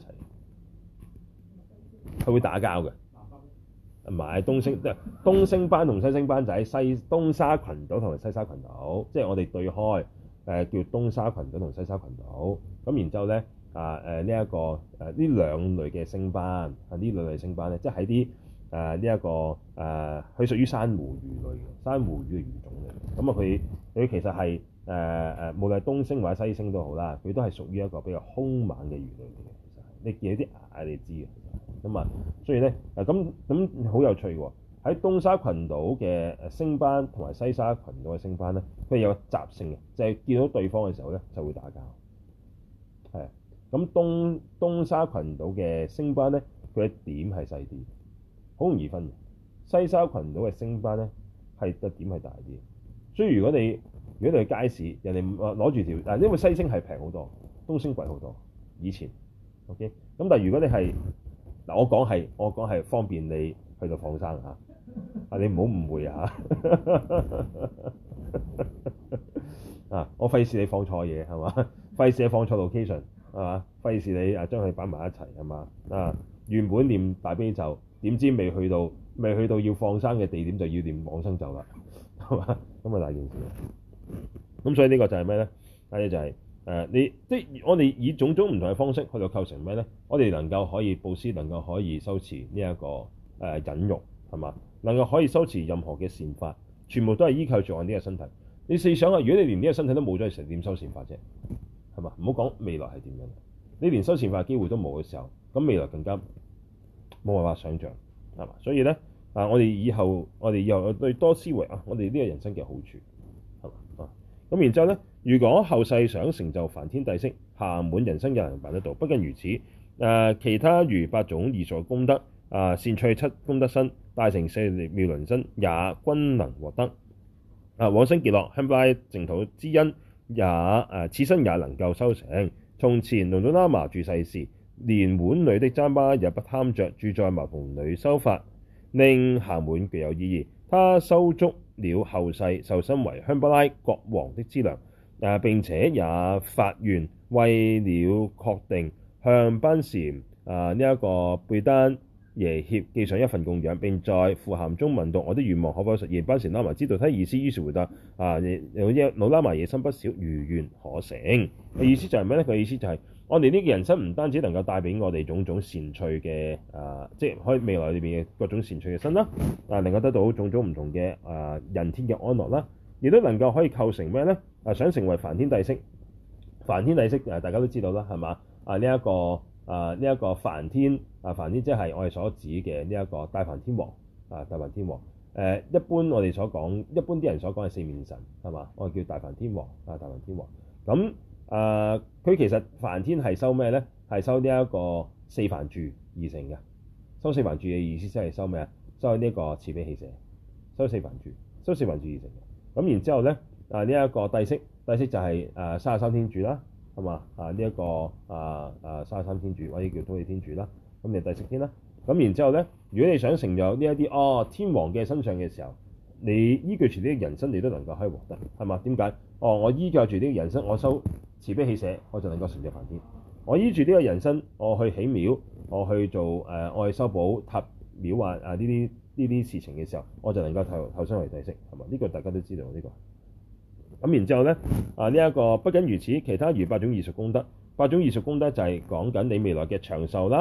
佢會打交嘅。唔係東星，即係東星斑同西星斑就喺西東沙群島同埋西沙群島，即係我哋對開誒、呃、叫東沙群島同西沙群島。咁然之後咧啊誒呢一個誒呢兩類嘅星斑啊，呢兩類星斑咧，即係喺啲誒呢一個誒，佢、呃、屬於珊瑚魚類嘅珊瑚魚嘅魚種嚟。咁啊，佢佢其實係誒誒，無論係東星或者西星都好啦，佢都係屬於一個比較兇猛嘅魚類嚟嘅。其實你見啲牙你知嘅。咁啊，所以咧誒咁咁好有趣喎！喺東沙群島嘅誒星斑同埋西沙群島嘅星斑咧，佢有個習性嘅，就係、是、見到對方嘅時候咧就會打交。係啊，咁東東沙群島嘅星斑咧，佢嘅點係細啲，好容易分嘅。西沙群島嘅星斑咧係個點係大啲，所以如果你如果你去街市，人哋攞住條嗱，因為西星係平好多，東星貴好多。以前 OK，咁但係如果你係嗱，我講係我講係方便你去到放生嚇，啊你唔好誤會啊啊！我費事你放錯嘢係嘛？費事你放錯 location 係嘛？費事你啊將佢擺埋一齊係嘛？啊原本念大悲咒，點知未去到未去到要放生嘅地點就要念往生咒啦，係嘛？咁啊大件事。咁所以呢個就係咩咧？第一就係、是。誒、呃、你即係我哋以種種唔同嘅方式去到構成咩咧？我哋能夠可以佈施，能夠可以修持呢、這、一個誒、呃、忍辱係嘛？能夠可以修持任何嘅善法，全部都係依靠住我呢個身體。你試想下，如果你連呢個身體都冇咗，你成點修善法啫？係嘛？唔好講未來係點樣，你連修善法嘅機會都冇嘅時候，咁未來更加冇辦法想像係嘛？所以咧啊，我哋以後我哋以後對多思維啊，我哋呢個人生嘅好處係嘛啊？咁然之後咧。如果後世想成就梵天帝釋，暇滿人生也能辦得到。不僅如此，誒、呃、其他如八種異熟功德，啊、呃、善趣七功德身，大乘四妙輪身，也均能獲得。啊往生極樂香巴拉淨土之因，也誒、呃、此身也能夠修成。從前龍祖喇嘛住世時，連碗裏的糌粑也不貪着，住在茅棚裏修法，令暇滿具有意義。他修足了後世受身為香巴拉國王的資糧。啊！並且也發願，為了確定向班禪啊呢一、這個貝丹耶協寄上一份供養，並在符函中問道：我的願望可否實現？班禪喇嘛知道他意思，於是回答：啊，老喇嘛野心不小，如願可成。嘅意思就係咩咧？佢意思就係、是、我哋呢個人生唔單止能夠帶俾我哋種種善趣嘅啊，即係可以未來裏邊嘅各種善趣嘅身啦，啊，能夠得到種種唔同嘅啊人天嘅安樂啦。亦都能夠可以構成咩咧？啊，想成為梵天帝釋，梵天帝釋誒，大家都知道啦，係嘛？啊，呢、這、一個啊，呢、這、一個梵天啊，梵天即係我哋所指嘅呢一個大梵天王啊，大梵天王。誒、啊，一般我哋所講，一般啲人所講係四面神，係嘛？我哋叫大梵天王啊，大梵天王。咁啊，佢其實梵天係收咩咧？係收呢一個四梵住而成嘅。收四梵住嘅意思即係收咩啊？收呢一個慈悲喜捨，收四梵住，收四梵住而成嘅。咁然之後咧，啊呢一、這個帝釋，帝釋就係誒三十三天主啦，係嘛？啊呢一、這個啊啊三十三天主或者叫土地天主啦，咁你帝釋天啦。咁然之後咧，如果你想成就呢一啲哦天王嘅身上嘅時候，你依據住呢個人身，你都能夠可以獲得，係嘛？點解？哦，我依靠住呢個人身，我修慈悲喜捨，我就能夠成就梵天。我依住呢個人身，我去起廟，我去做誒、呃，我去修補塔廟啊啊呢啲。呢啲事情嘅時候，我就能夠投投身為帝釋，係嘛？呢、這個大家都知道呢、這個。咁然之後咧，啊呢一、這個不僅如此，其他如八種異熟功德，八種異熟功德就係講緊你未來嘅長壽啦、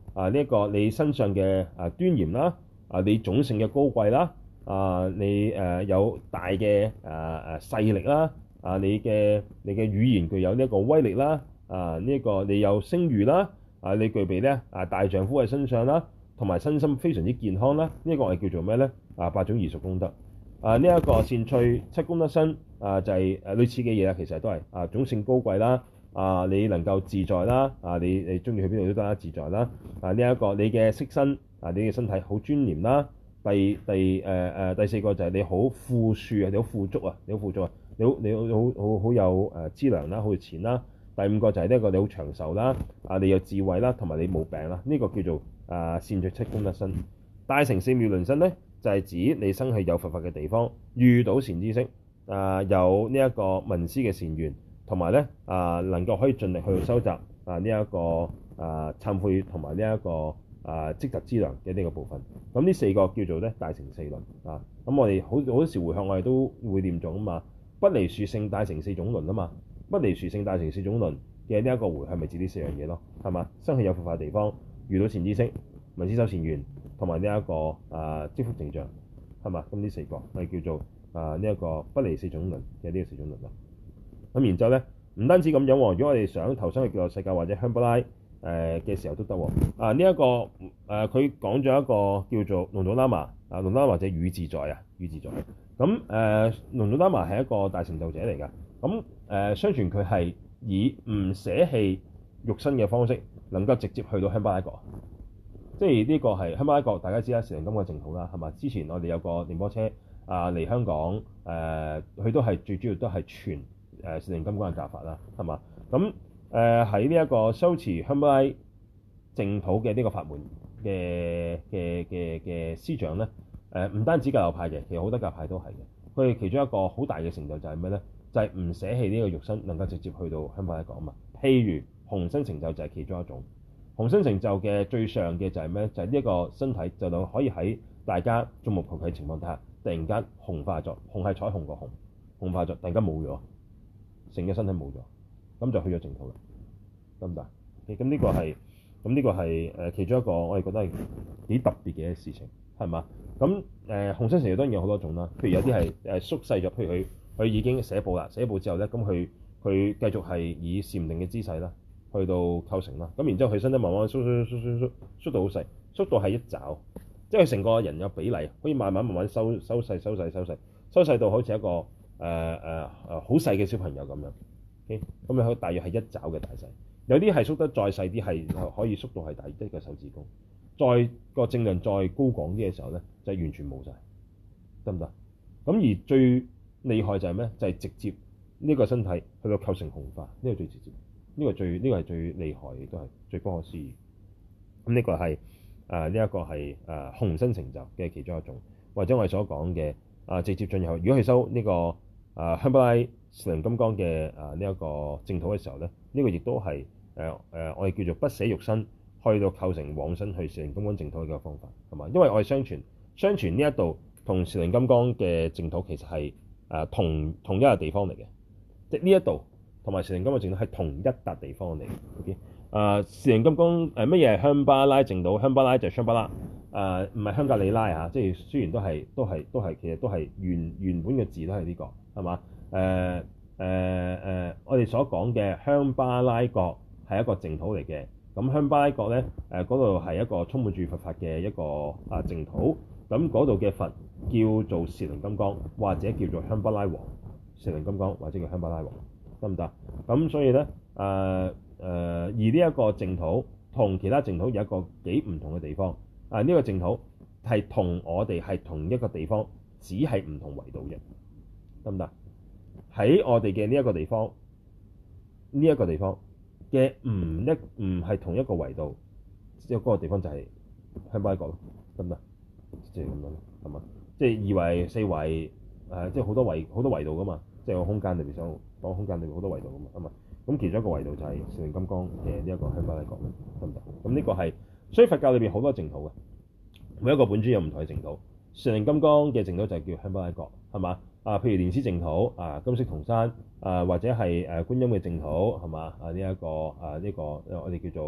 啊呢一個你身上嘅啊端嚴啦，啊你種性嘅高貴啦，啊你誒、呃、有大嘅誒誒勢力啦，啊你嘅你嘅語言具有呢一個威力啦，啊呢一個你有聲譽啦，啊你具備咧啊大丈夫喺身上啦，同埋身心非常之健康啦，呢、這、一個我哋叫做咩咧？啊八種異熟功德。啊呢一個善趣七功德身啊就係、是、誒類似嘅嘢啦，其實都係啊種性高貴啦。啊！你能夠自在啦，啊！你你中意去邊度都得啦，自在啦。啊！呢、這、一個你嘅色身，啊！你嘅身體好尊嚴啦。第第誒誒、呃、第四個就係你好富庶啊，你好富足啊，你好富足啊，你好你好好好好有誒資糧啦，好有錢啦。第五個就係呢一個你好長壽啦，啊！你有智慧啦，同埋你冇病啦。呢、這個叫做啊善趣七功德身。大乘四妙輪身咧，就係、是、指你生喺有佛法嘅地方，遇到善知識，啊有呢一個聞思嘅善緣。同埋咧啊，能夠可以盡力去收集啊呢一個啊懺悔同埋呢一個啊積集資糧嘅呢個部分。咁呢四個叫做咧大乘四輪啊。咁我哋好好多時回向我哋都會念誦啊嘛，不離殊勝大乘四種輪啊嘛，不離殊勝大乘四種輪嘅呢一個回向咪指呢四樣嘢咯，係嘛？生喺有佛法嘅地方，遇到善知識、聞思修善緣，同埋呢一個啊積福淨障，係嘛？咁呢四個係叫做啊呢一個不離四種輪嘅呢個四種輪啦。咁然之後咧，唔單止咁樣喎，如果我哋想投生去極樂世界或者香巴拉誒嘅時候都得喎。啊，呢、這、一個誒，佢講咗一個叫做龍祖喇嘛啊，龍祖喇嘛或者語自在啊，語自在。咁誒，龍祖喇嘛係一個大成就者嚟㗎。咁誒、呃，相傳佢係以唔捨棄肉身嘅方式，能夠直接去到香巴拉國。即係呢個係香巴拉國，大家知啦，成金嘅淨土啦，係嘛？之前我哋有個電波車啊嚟香港誒，佢、呃、都係最主要都係傳。誒禪定金剛嘅教法啦，係嘛？咁誒喺呢一個修持香巴拉淨土嘅呢個法門嘅嘅嘅嘅師長咧，誒、呃、唔單止教流派嘅，其實好多教派都係嘅。佢哋其中一個好大嘅成就就係咩咧？就係、是、唔捨棄呢個肉身，能夠直接去到香巴拉國啊嘛。譬如虹身成就就係其中一種。虹身成就嘅最上嘅就係咩？就係呢一個身體就能可以喺大家眾目睽睽嘅情況底下，突然間紅化咗，紅係彩虹個紅，紅化咗，突然間冇咗。成嘅身體冇咗，咁就去咗淨土啦，得唔得？咁呢個係，咁呢個係誒其中一個我哋覺得係幾特別嘅事情，係嘛？咁誒虹身成就當然有好多種啦，譬如有啲係誒縮細咗，譬如佢佢已經寫報啦，寫報之後咧，咁佢佢繼續係以禪定嘅姿勢啦，去到構成啦，咁然之後佢身體慢慢縮縮縮縮縮縮縮到好細，縮到係一爪，即係佢成個人有比例，可以慢慢慢慢收收細收細收細，收細到好似一個。誒誒誒好細嘅小朋友咁樣，咁你可大約係一爪嘅大細，有啲係縮得再細啲，係可以縮到係大一個手指公，再個正量再高廣啲嘅時候咧，就完全冇晒，得唔得？咁而最厲害就係咩？就係、是、直接呢個身體去到構成紅化，呢、這個最直接，呢、這個最呢、這個係最厲害，亦都係最不可思議。咁呢個係誒呢一個係誒虹身成就嘅其中一種，或者我哋所講嘅啊直接進入，如果去修呢、這個。啊，香巴拉禪定金剛嘅啊呢一個淨土嘅時候咧，呢、這個亦都係誒誒我哋叫做不捨肉身，去到構成往生去禪定金剛淨土嘅一個方法，係嘛？因為我哋相傳相傳呢一度同禪定金剛嘅淨土其實係誒、啊、同同一個地方嚟嘅，即係呢一度同埋禪定金剛淨土係同一笪地方嚟嘅。O.K. 啊，禪定金剛誒乜嘢係香巴拉淨土？香巴拉就係香巴拉。誒唔係香格里拉嚇，即係雖然都係都係都係，其實都係原原本嘅字都係呢、這個係嘛？誒誒誒，我哋所講嘅香巴拉國係一個淨土嚟嘅。咁香巴拉國咧誒嗰度係一個充滿住佛法嘅一個啊淨土。咁嗰度嘅佛叫做禪定金剛，或者叫做香巴拉王。禪定金剛或者叫香巴拉王，得唔得？咁所以咧誒誒，而呢一個淨土同其他淨土有一個幾唔同嘅地方。啊！呢、這個淨土係同我哋係同一個地方，只係唔同維度嘅，得唔得？喺我哋嘅呢一個地方，呢、這、一個地方嘅唔一唔係同一個維度，即係嗰個地方就係香巴拉國咯，得唔得？即係咁樣咯，係嘛？即係二維、四維，誒、呃，即係好多維好多維度噶嘛，即係個空間裏邊想講空間裏邊好多維度噶嘛，係嘛？咁其中一個維度就係禪定金剛嘅呢一個香巴拉國，得唔得？咁呢個係。所以佛教裏邊好多淨土嘅，每一個本尊有唔同嘅淨土。禪定金剛嘅淨土就係叫香巴拉國，係嘛？啊，譬如蓮師淨土啊，金色銅山啊，或者係誒觀音嘅淨土，係嘛？啊呢一、這個啊呢、這個我哋叫做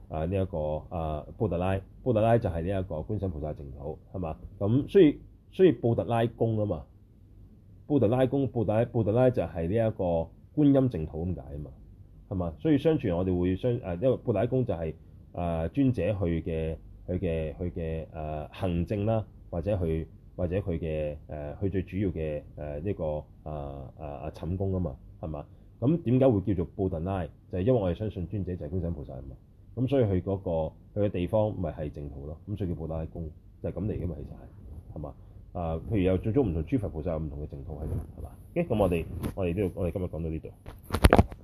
啊呢一個啊布特拉，布特拉就係呢一個觀世音菩薩淨土係嘛？咁所以所以布特拉宮啊嘛，布特拉宮布特拉布特拉就係呢一個觀音淨土咁解啊嘛，係嘛？所以相傳我哋會相誒，因為布特拉宮就係、是、誒、呃、尊者去嘅佢嘅佢嘅誒行證啦，或者去或者佢嘅誒佢最主要嘅誒呢個誒誒誒寢宮啊嘛，係嘛？咁點解會叫做布特拉？就係、是、因為我哋相信尊者就係觀世音菩薩啊嘛。咁所以佢嗰、那個佢嘅地方咪係淨土咯。咁所以叫布特拉宮就係咁嚟嘅嘛，其實係係嘛？啊，譬如有最終唔同諸佛菩薩有唔同嘅淨土喺度，係嘛？嘅咁我哋我哋呢度我哋今日講到呢度。